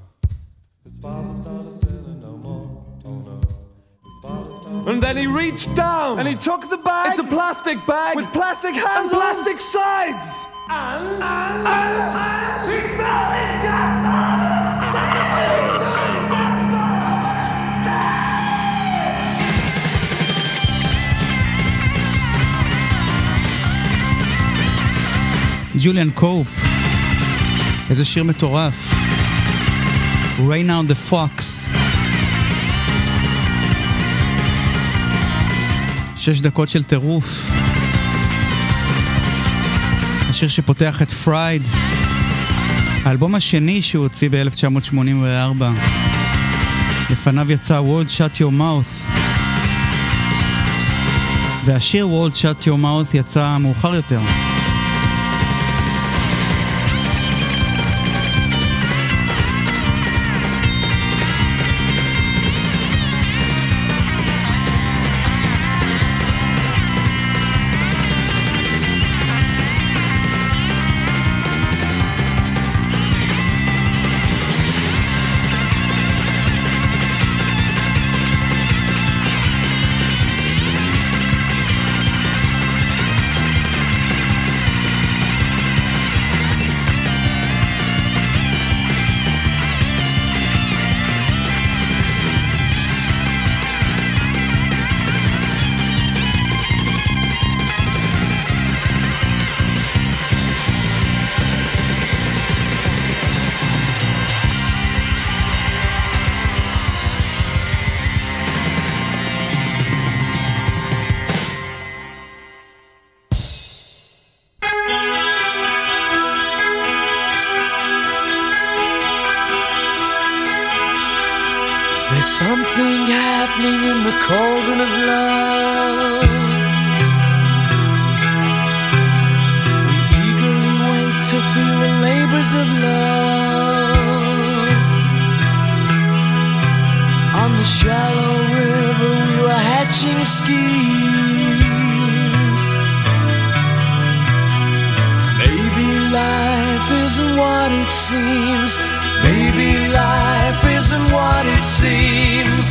And then he reached down and he took the bag. It's a plastic bag with plastic handles and plastic sides. And he fell his guts all over the stage. Guts all over the stage. ג'וליאן קופ, איזה שיר מטורף. Reynard the Fox. 6 דקות של טירוף. השיר שפותח את פרייד, האלבום השני שהוא הוציא ב-1984. לפניו יצא World Shut Your Mouth, והשיר World Shut Your Mouth יצא מאוחר יותר. Something happening in the cauldron of love. We eagerly wait to feel the labors of love. On the shallow river we were hatching schemes. Maybe life isn't what it seems. Maybe life isn't what it seems.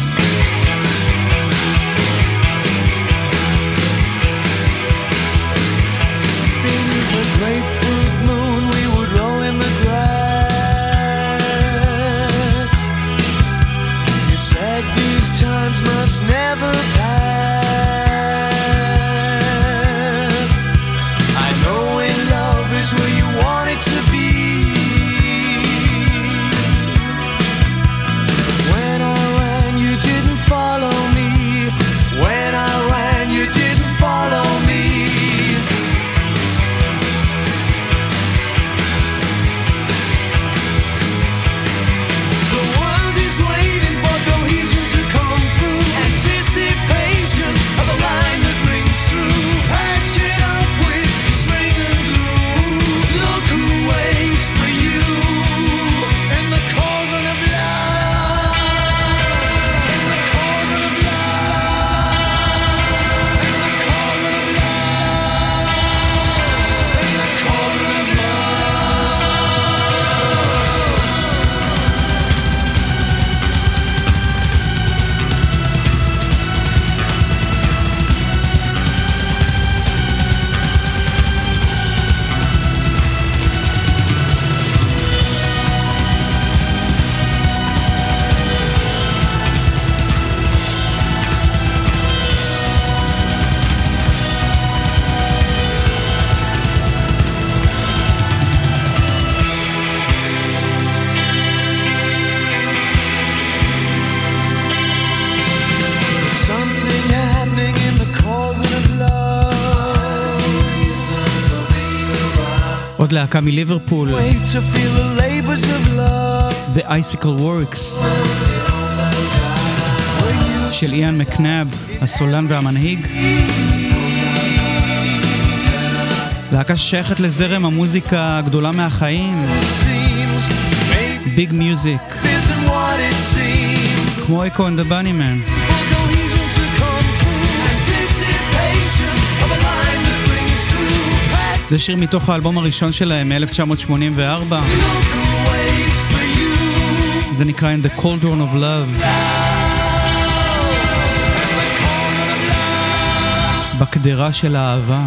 Beneath the grapefruit moon we would roll in the grass. You said these times must never pass. I know in love is where you want it to be. Follow me. When I ran, you didn't follow me. The world is waiting for cohesion to come through. Anticipation of a line that rings true. Patch it up with string and glue. Look who waits for you in the cauldron of love. עוד להקה מליברפול, The Icicle Works של איאן מקנאב, הסולן והמנהיג. להקה ששייכת לזרם המוזיקה הגדולה מהחיים, ביג מיוזיק, כמו אקו and the Bunnymen. זה שיר מתוך האלבום הראשון שלהם מ-1984. זה נקרא In the Cauldron of Love. בקדרה של האהבה.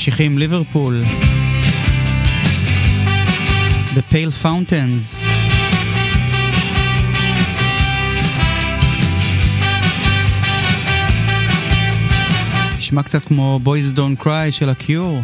ממשיכים ליברפול. The Pale Fountains. נשמע קצת כמו Boys Don't Cry של הקיור.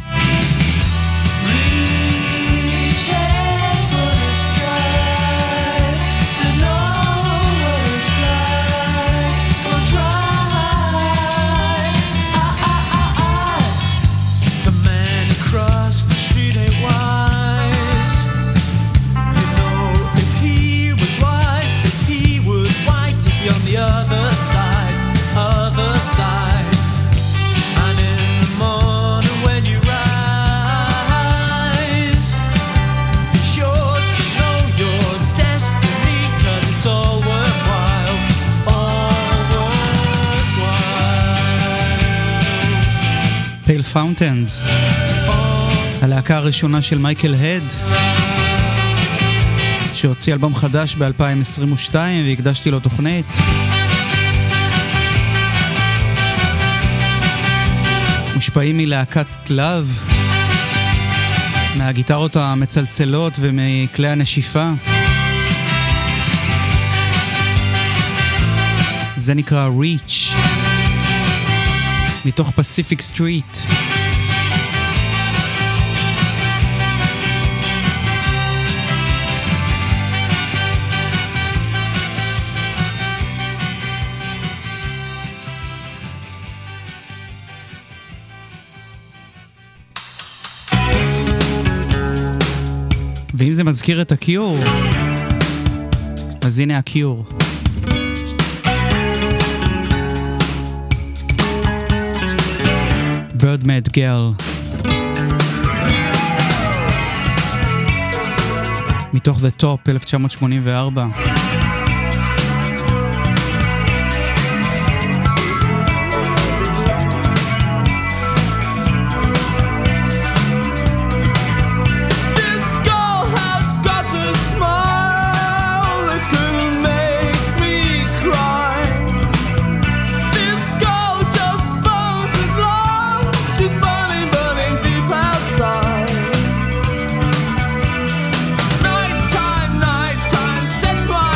Pale Fountains, הלהקה הראשונה של מייקל הד, שהוציא אלבום חדש ב-2022 והקדשתי לו תוכנית. מושפעים מלהקת לב, מהגיטרות המצלצלות ומכלי הנשיפה. זה נקרא Reach, מתוך פסיפיק סטריט. ואם זה מזכיר את הקיור, אז הנה הקיור. Birdman Girl, מתוך The Top 1984. Nighttime sets my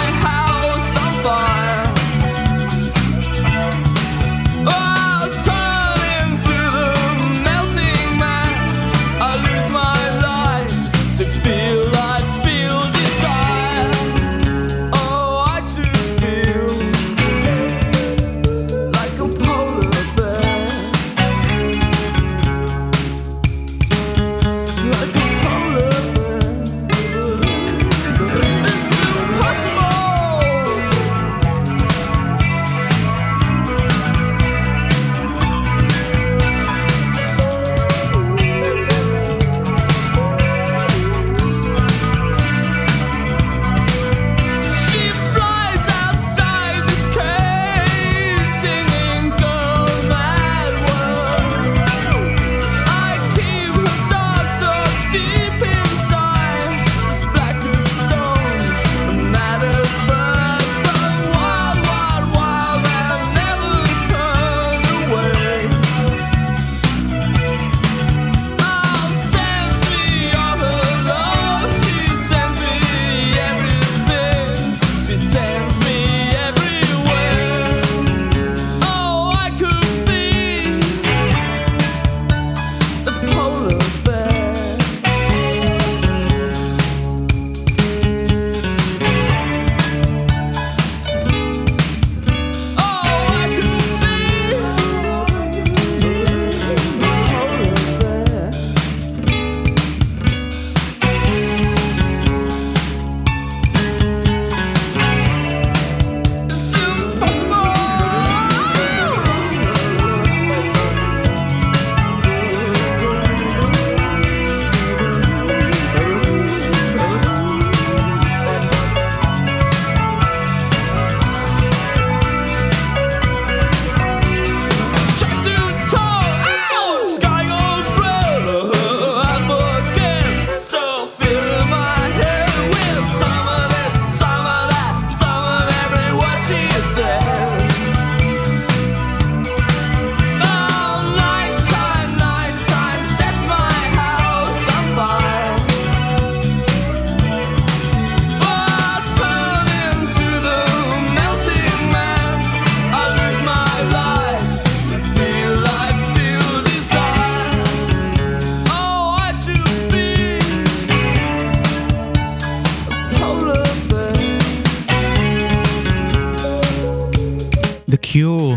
קיור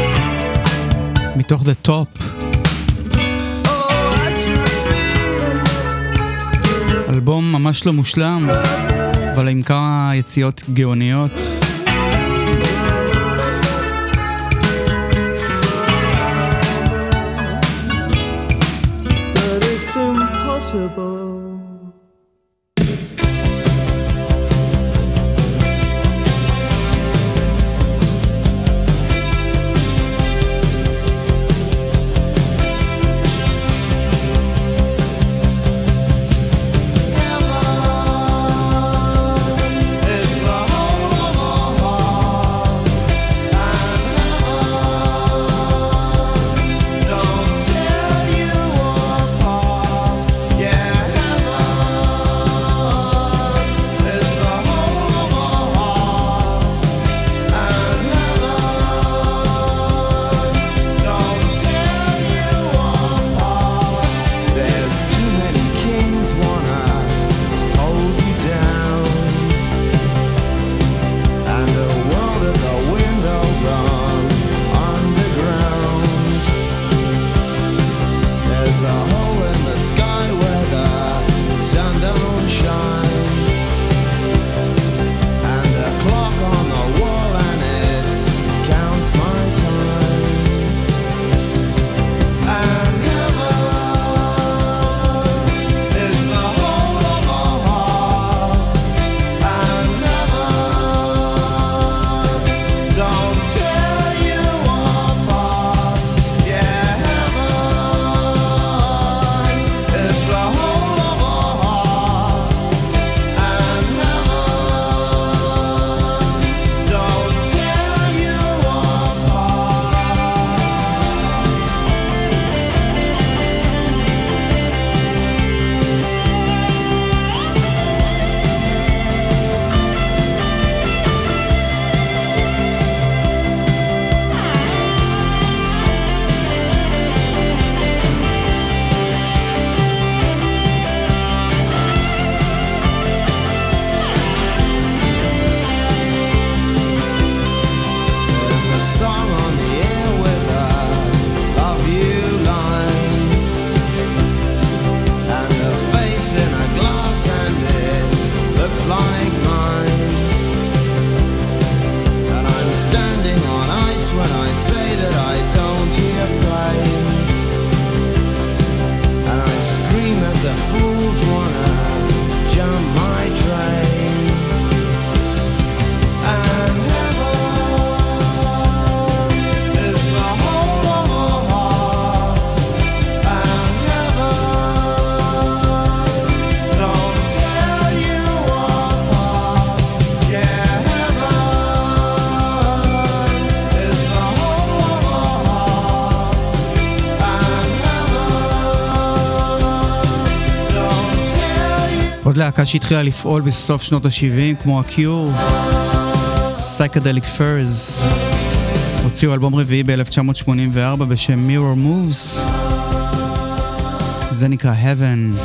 מתוך The Top, אלבום ממש לא מושלם אבל עם כמה יציאות גאוניות. But it's impossible. עוד להקה שהתחילה לפעול בסוף שנות ה-70 כמו הקיור, Psychedelic Furs, הוציאו אלבום רביעי ב-1984 בשם Mirror Moves, זה נקרא Heaven.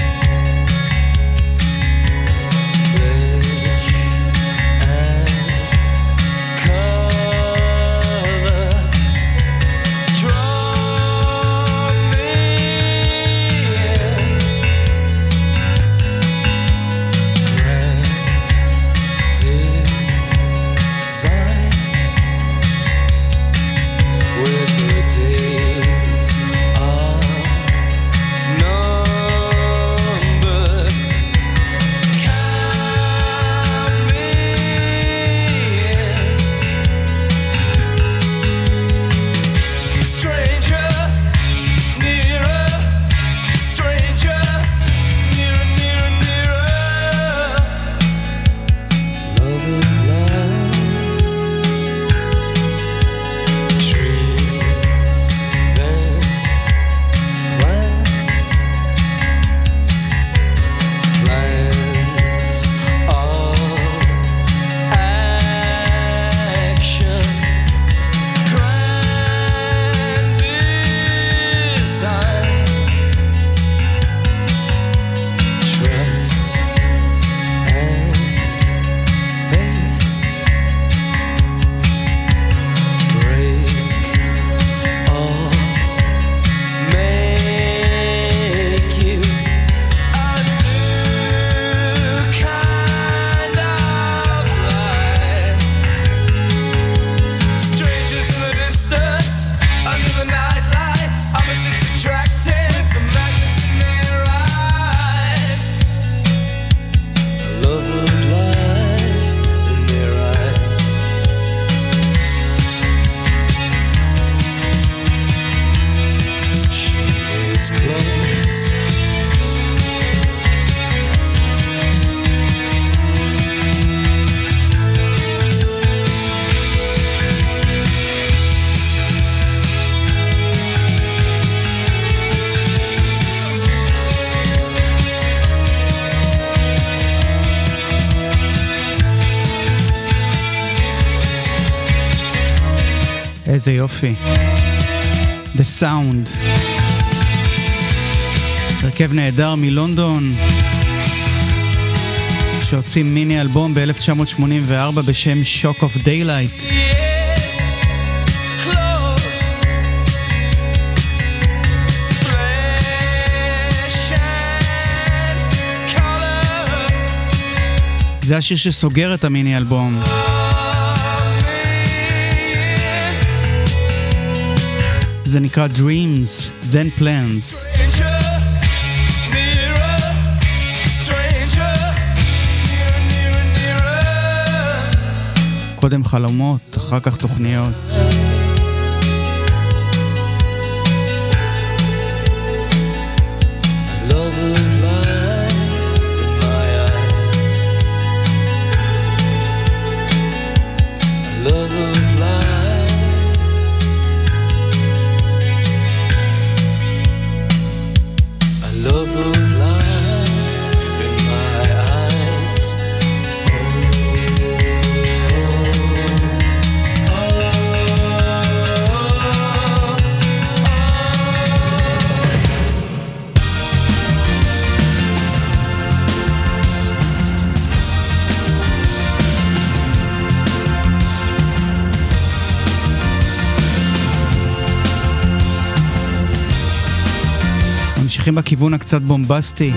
Flesh and איזה יופי. The Sound. הרכב נהדר מלונדון, שהוציא מיני אלבום ב-1984 בשם Shock of Daylight. זה השיר שסוגר את המיני אלבום. זה נקרא Dreams, Then Plans. קודם חלומות, אחר כך תוכניות. ממשיכים בכיוון הקצת בומבסטי.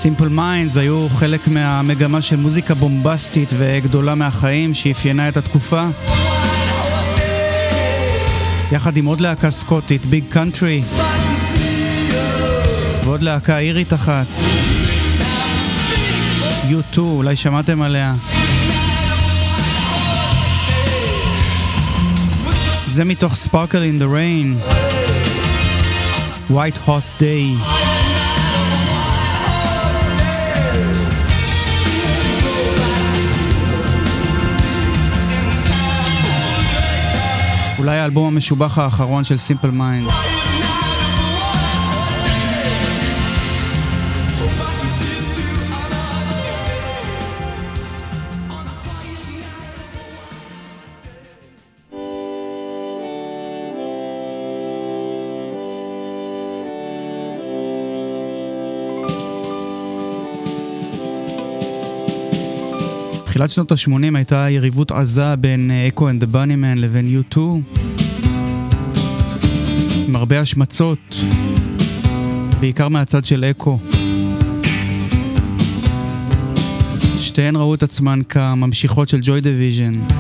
Simple Minds היו חלק מהמגמה של מוזיקה בומבסטית וגדולה מהחיים שאפיינה את התקופה. יחד עם עוד להקה סקוטית, ביג קאנטרי, ועוד להקה אירית אחת, U2, אולי שמעתם עליה. זה מתוך Sparkle in the Rain, White Hot Day. אולי האלבום המשובח האחרון של Simple Minds. בתחילת שנות ה-80 הייתה יריבות עזה בין אקו and the Bunnymen לבין U2, עם הרבה השמצות, בעיקר מהצד של אקו. שתיהן ראו את עצמן כממשיכות של Joy Division.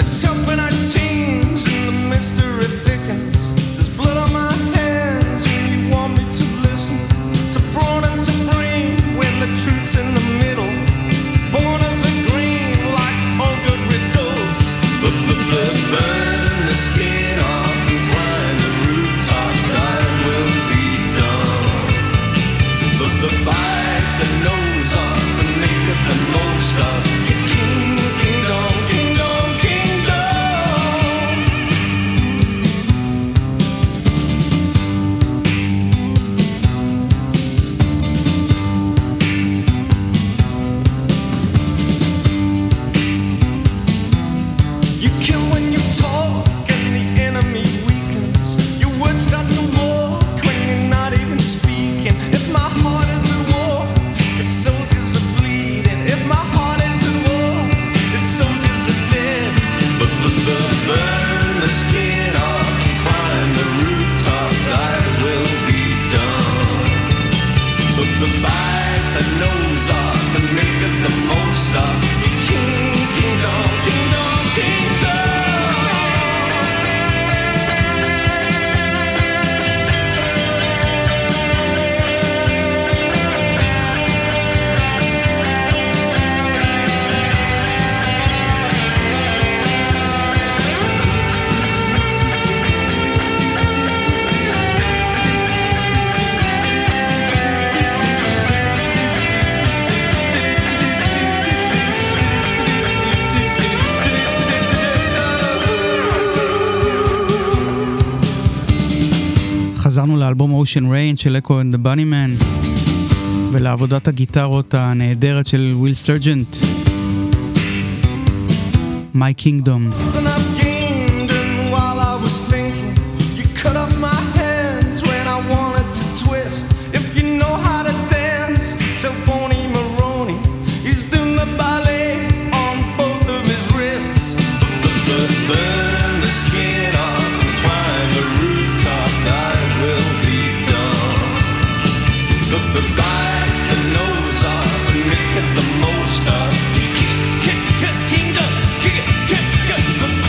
חזרנו לאלבום Ocean Rain של אקו and the Bunnymen ולעבודת הגיטרות הנהדרת של וויל סרג'נט, My Kingdom. The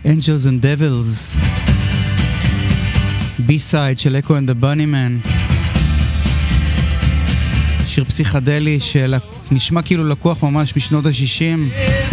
Angels and Devils, B-side של Echo and the Bunnymen, שיר פסיכדלי שנשמע כאילו לקוח ממש משנות ה-60.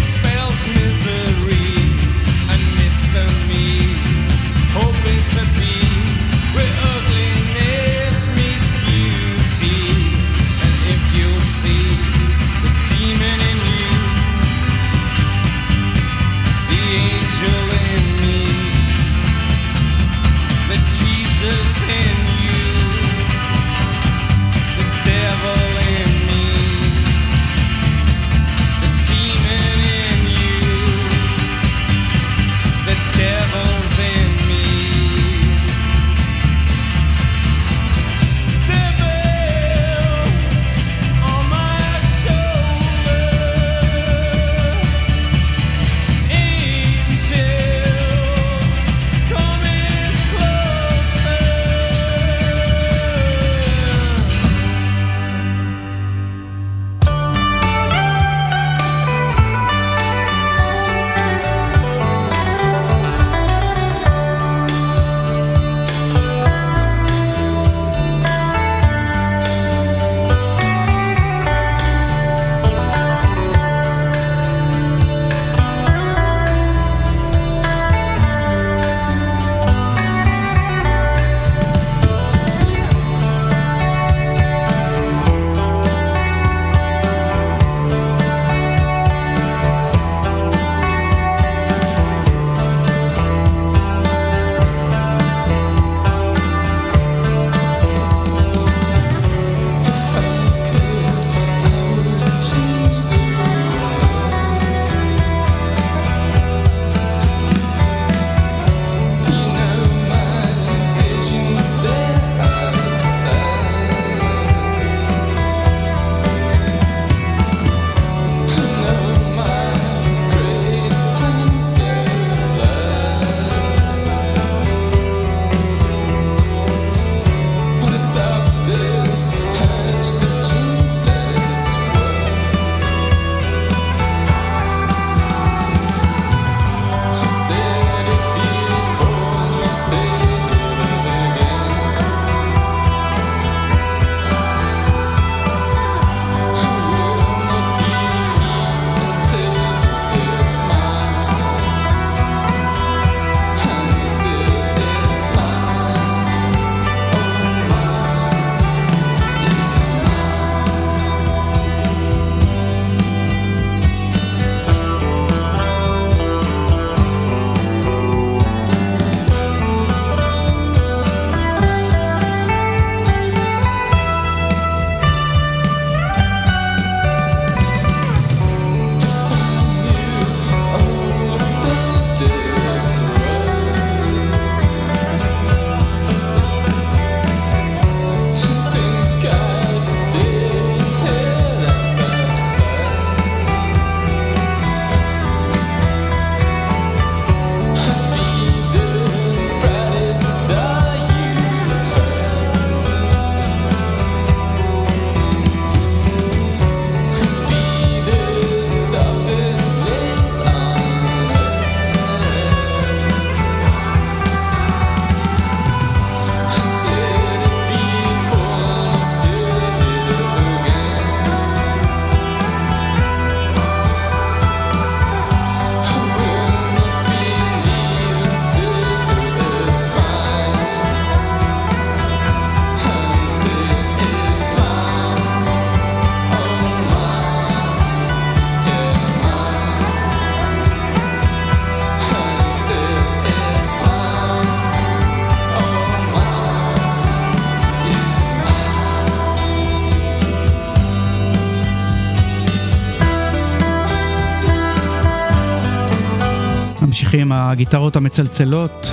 ממשיכים הגיטרות המצלצלות,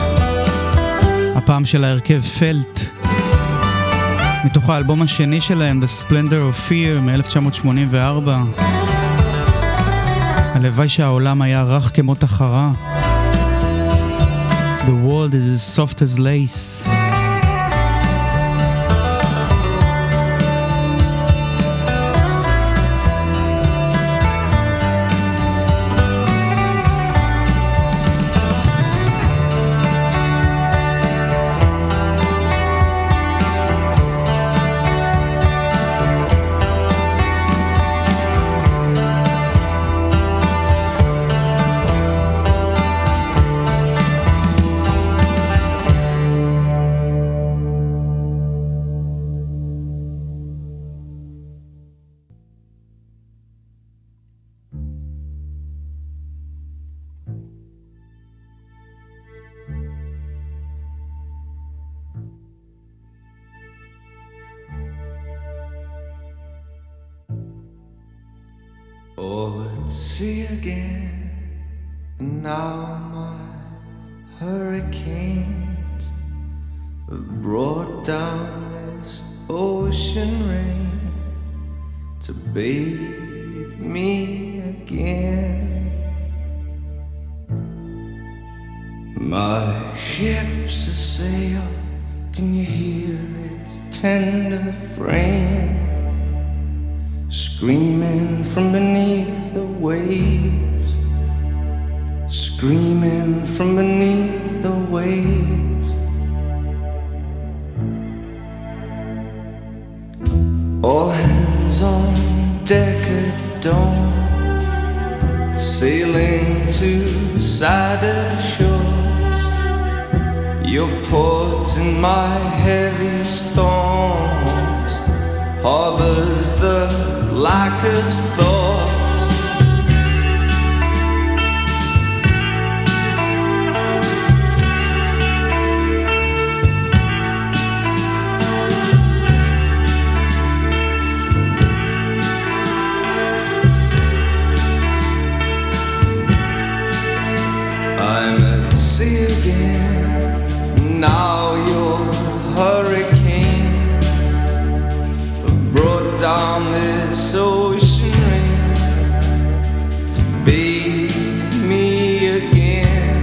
הפעם של ההרכב פלט, מתוך האלבום השני שלהם, The Splendor of Fear מ-1984. הלוואי שהעולם היה רך כמו תחרה. The world is as soft as lace. Oh, let's see again. Now my hurricanes have brought down this ocean rain to bathe me again. My ship's a sail, can you hear its tender frame screaming from beneath the waves, screaming from beneath the waves. All hands on deck at dawn, sailing to sadder shores. Your port in my heavy storms harbors the blackest thoughts. I'm at sea again. Now your hurricanes have brought down this ocean rain to bathe me again.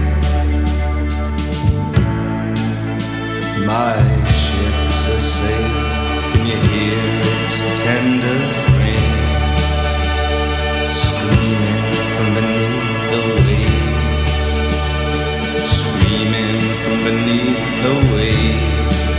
My ship's a sail, can you hear its tender frame screaming from beneath the waves, screaming from beneath the waves.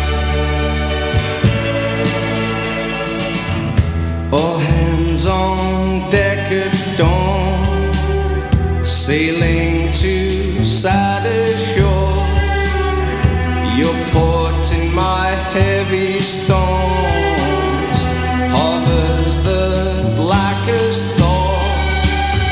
All hands on deck at dawn, sailing to sadder shores. Your port in my heavy storms harbors the blackest thoughts.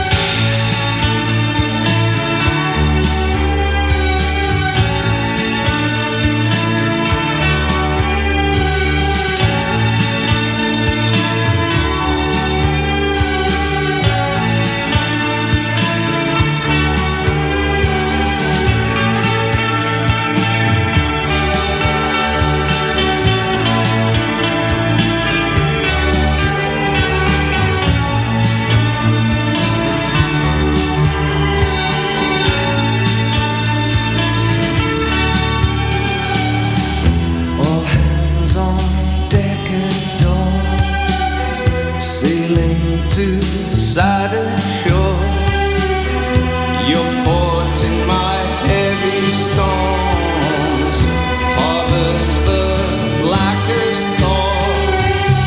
All hands on deck at dawn, sailing to sadder shores. Your port in my heavy storms harbors the blackest thoughts.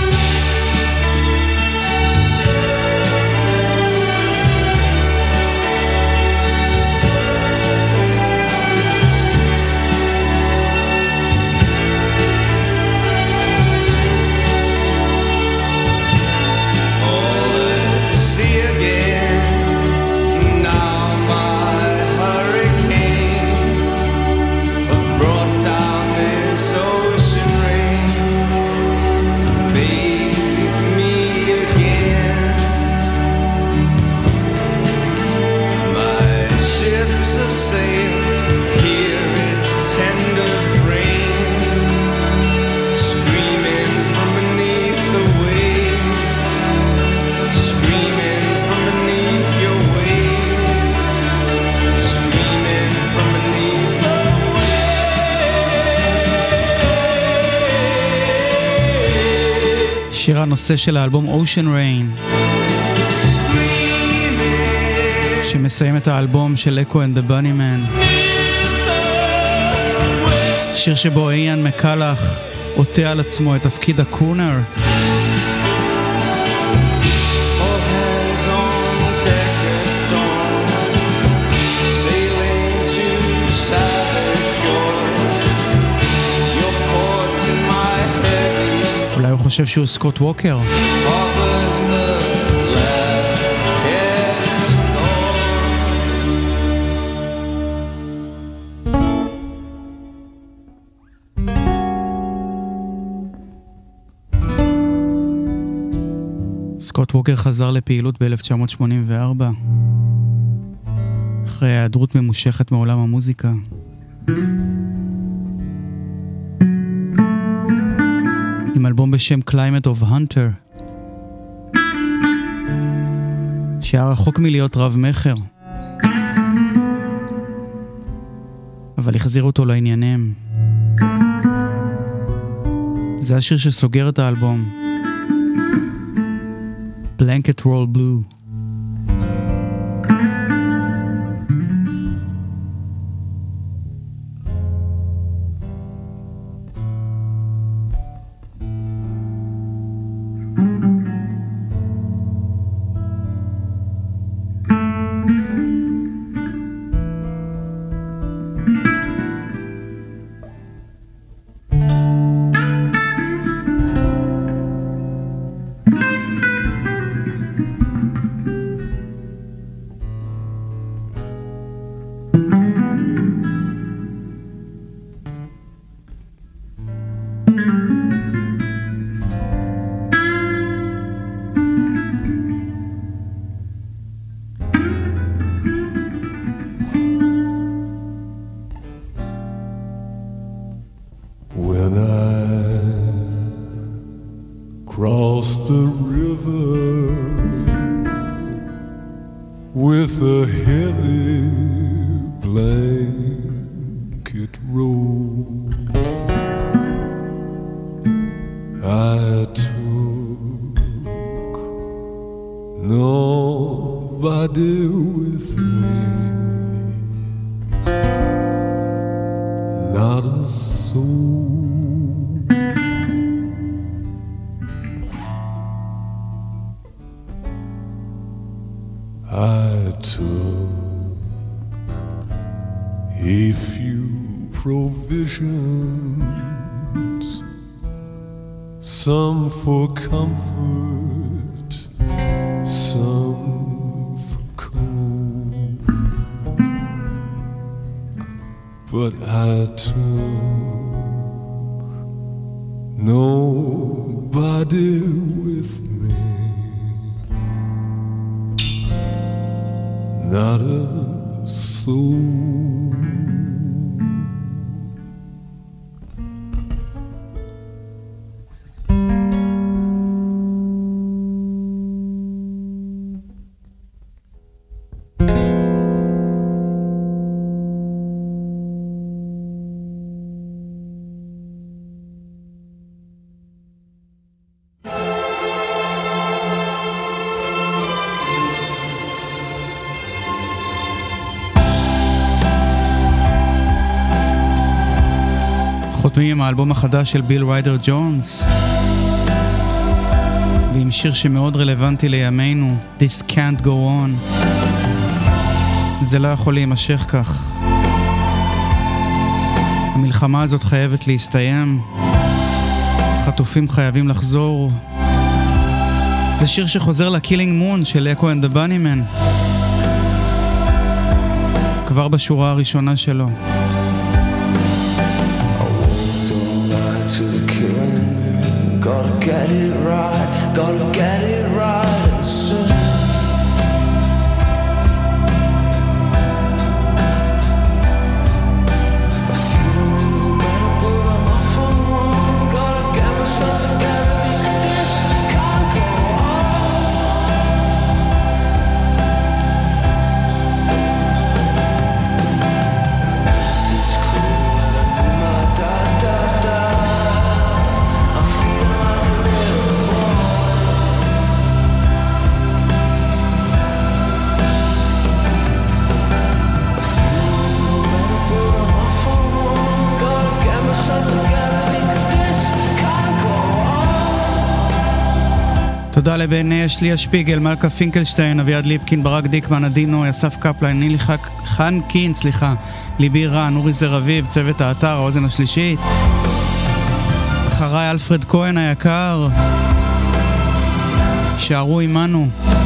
All at sea again. Now my hurricane have brought down this ocean rain to bathe me again. My ship's a sail, hear its tender frame screaming from beneath the waves, screaming from beneath your waves, screaming from beneath the waves. שיר הנושא של האלבום Ocean Rain, שמסיים את האלבום של Echo and the Bunnymen. שיר שבו איאן מקלח עוטה על עצמו את תפקיד הקרונר. All hands on deck at dawn, sailing to sadder shores. Your port in my heavy אולי הוא חושב שהוא סקוט ווקר. harbors the blackest thoughts. סקוט ווקר חזר לפעילות ב-1984 אחרי היעדרות ממושכת מעולם המוזיקה. עם אלבום בשם Climate of Hunter שהיה רחוק מלהיות רב מחר, אבל החזיר אותו לעניינים. זה השיר שסוגר את האלבום, Blanket Roll Blue. Some for comfort, some for cold, but I took nobody with me, not a soul. חותמים עם האלבום החדש של ביל ריידר ג'ונס ועם שיר שמאוד רלוונטי לימינו, This Can't Go On. זה לא יכול להימשך כך. המלחמה הזאת חייבת להסתיים, חטופים חייבים לחזור. זה שיר שחוזר ל-Killing Moon של אקו and the Bunnymen כבר בשורה הראשונה שלו. To the killing moon, gotta get it right, gotta get it right and soon. I feel a little better, but I'm off on one. Gotta get myself together because this can't go It's clear, my da-da-da. תודה לבן אשליה שפיגל, מלכה פינקלשטיין, אביעד ליפקין, ברק דיקמן, עדינו, יסף קפלן, נילי חנקין, ליבי רן, אורי זר אביב, צוות האתר, האוזן השלישית. אחריי אלפרד כהן היקר, שערו עמנו.